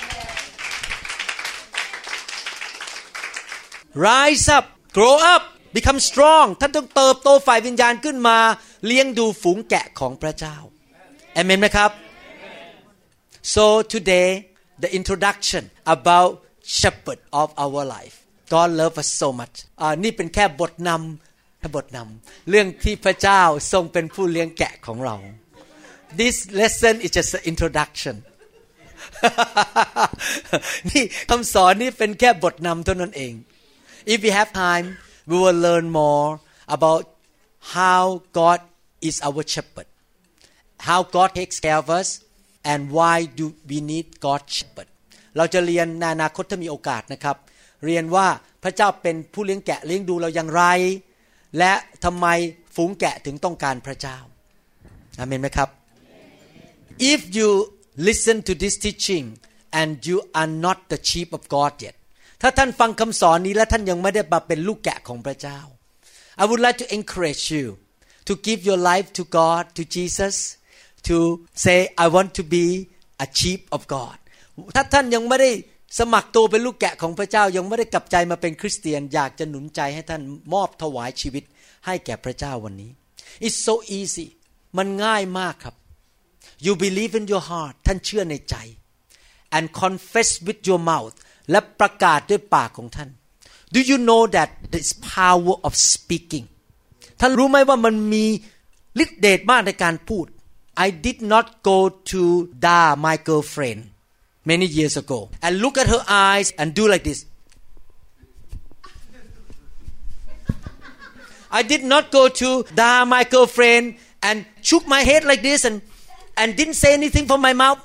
Rise up grow up become strong ท่านต้องเติบโตฝ่ายวิญญาณขึ้นมาเลี้ยงดูฝูงแกะของพระเจ้าเอเมนไหมครับ So today the introduction about shepherd of our life God love us so much นี่เป็นแค่บทนำเรื่องที่พระเจ้าทรงเป็นผู้เลี้ยงแกะของเรา This lesson is just an introduction นี่คำสอนนี้เป็นแค่บทนำเท่านั้นเอง If we have time we will learn more about how God is our shepherd how God takes care of us and why do we need God's shepherdเราจะเรียนในอนาคตถ้ามีโอกาสนะครับเรียนว่าพระเจ้าเป็นผู้เลี้ยงแกะเลี้ยงดูเราอย่างไรและทำไมฝฝูงแกะถึงต้องการพระเจ้าอาเมนไหมครับ If you listen to this teaching and you are not the sheep of God yet ถ้าท่านฟังคำสอนนี้และท่านยังไม่ได้มาเป็นลูกแกะของพระเจ้า I would like to encourage you to give your life to God, to Jesus, to say I want to be a sheep of God ถ้าท่านยังไม่ได้สมัครตัวเป็นลูกแกะของพระเจ้ายังไม่ได้กลับใจมาเป็นคริสเตียนอยากจะหนุนใจให้ท่านมอบถวายชีวิตให้แก่พระเจ้าวันนี้ It's so easy มันง่ายมากครับ You believe in your heart ท่านเชื่อในใจ and confess with your mouth และประกาศด้วยปากของท่าน Do you know that there is power of speaking ท่านรู้ไหมว่ามันมีฤทธิ์เดชมากในการพูด I did not go to Da my girlfriend many years ago and look at her eyes and do like this I did not go to Da my girlfriend and shook my head like this and didn't say anything from my mouth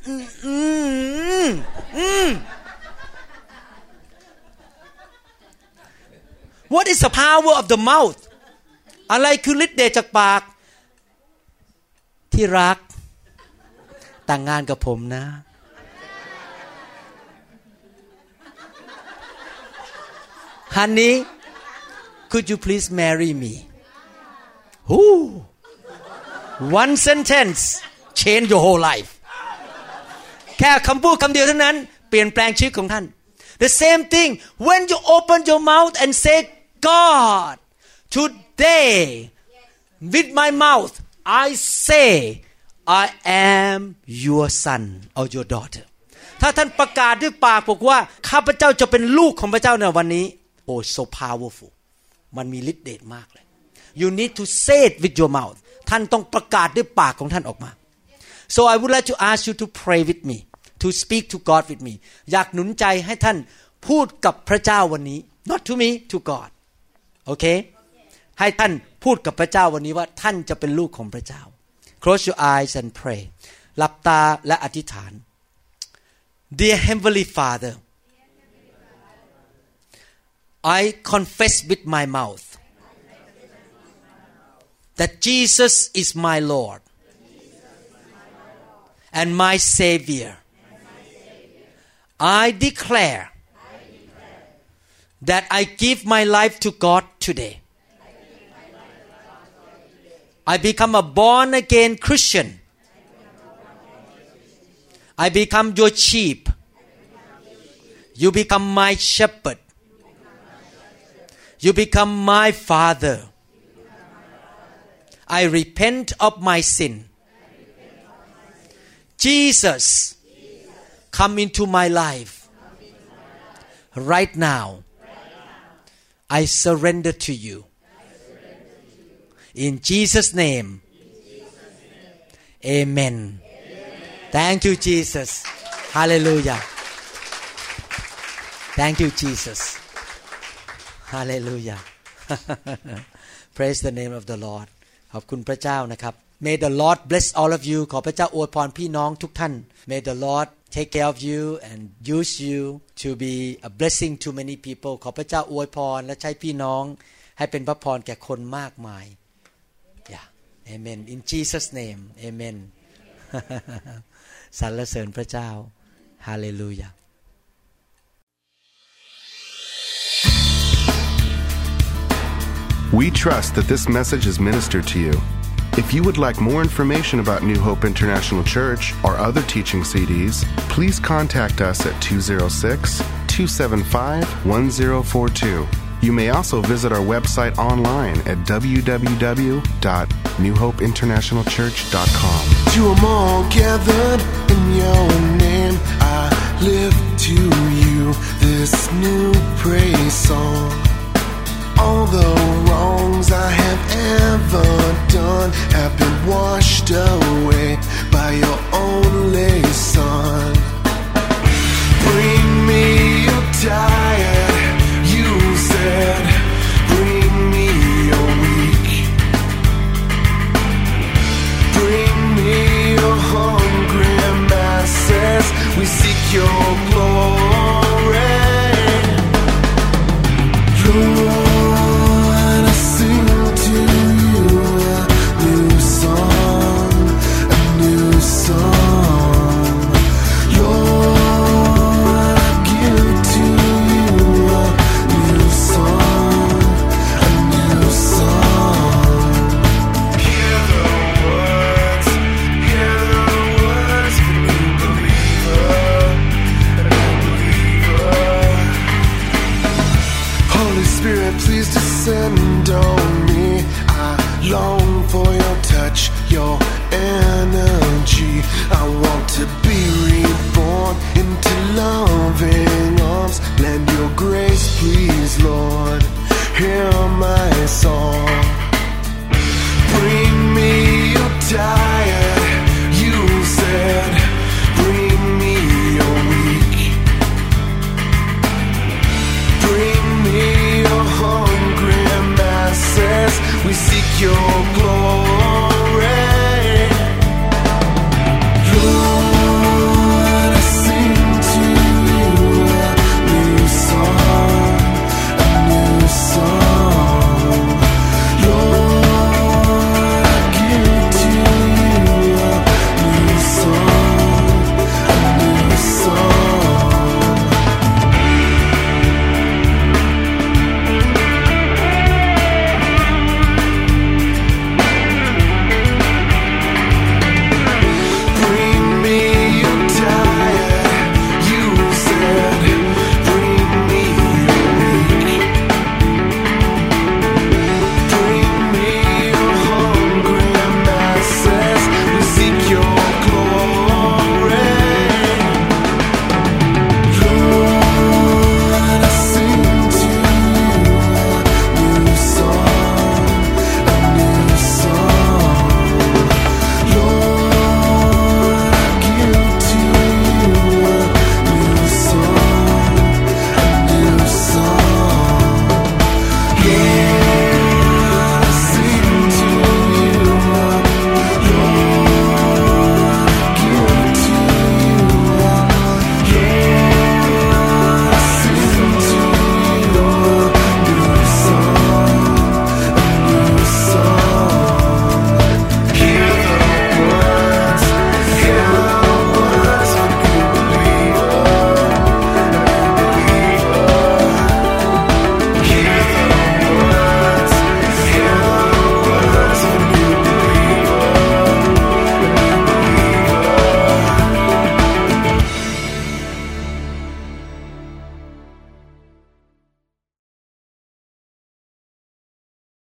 What is the power of the mouth อะไรคือฤทธิ์เดชจากปากที่รักแต่งงานกับผมนะHoney, could you please marry me? Ooh, one sentence change your whole life. แค่คำพูดคำเดียวเท่านั้นเปลี่ยนแปลงชีวิตของท่าน The same thing when you open your mouth and say, God, today with my mouth I say I am your son or your daughter. ถ้าท่านประกาศด้วยปากบอกว่าข้าพเจ้าจะเป็นลูกของพระเจ้าในวันนี้Oh, so powerful มันมีฤทธิ์เดชมากเลย You need to say it with your mouth ท่านต้องประกาศด้วยปากของท่านออกมา So I would like to ask you to pray with me to speak to God with me อยากหนุนใจให้ท่านพูดกับพระเจ้าวันนี้ Not to me to God โอเค ให้ท่านพูดกับพระเจ้าวันนี้ว่าท่านจะเป็นลูกของพระเจ้า Close your eyes and pray หลับตาและอธิษฐาน Dear Heavenly Father I confess with my mouth that Jesus is my Lord and my Savior. I declare that I give my life to God today. I become a born-again Christian. I become your sheep. You become my shepherd.You become my father. I repent of my sin. Jesus, come into my life. Right now, I surrender to you. In Jesus' name, amen. Thank you, Jesus. Hallelujah. Thank you, Jesus.Hallelujah. Praise the name of the Lord. ขอบคุณพระเจ้านะครับ May the Lord bless all of you. ขอพระเจ้าอวยพรพี่น้องทุกท่าน May the Lord take care of you and use you to be a blessing to many people. ขอพระเจ้าอวยพรและใช้พี่น้องให้เป็นพระพรแก่คนมากมาย Yeah. Amen. In Jesus' name. Amen. สรรเสริญพระเจ้า Hallelujah. We trust that this message is ministered to you. If you would like more information about New Hope International Church or other teaching CDs, please contact us at 206-275-1042. You may also visit our website online at www.newhopeinternationalchurch.com. To them all gathered in your name, I lift to you this new praise song.All the wrongs I have ever done have been washed away by your only Son. Bring me your tired, you said. Bring me your weak. Bring me your hungry masses. We seek your glory.Lord, I sing to you I want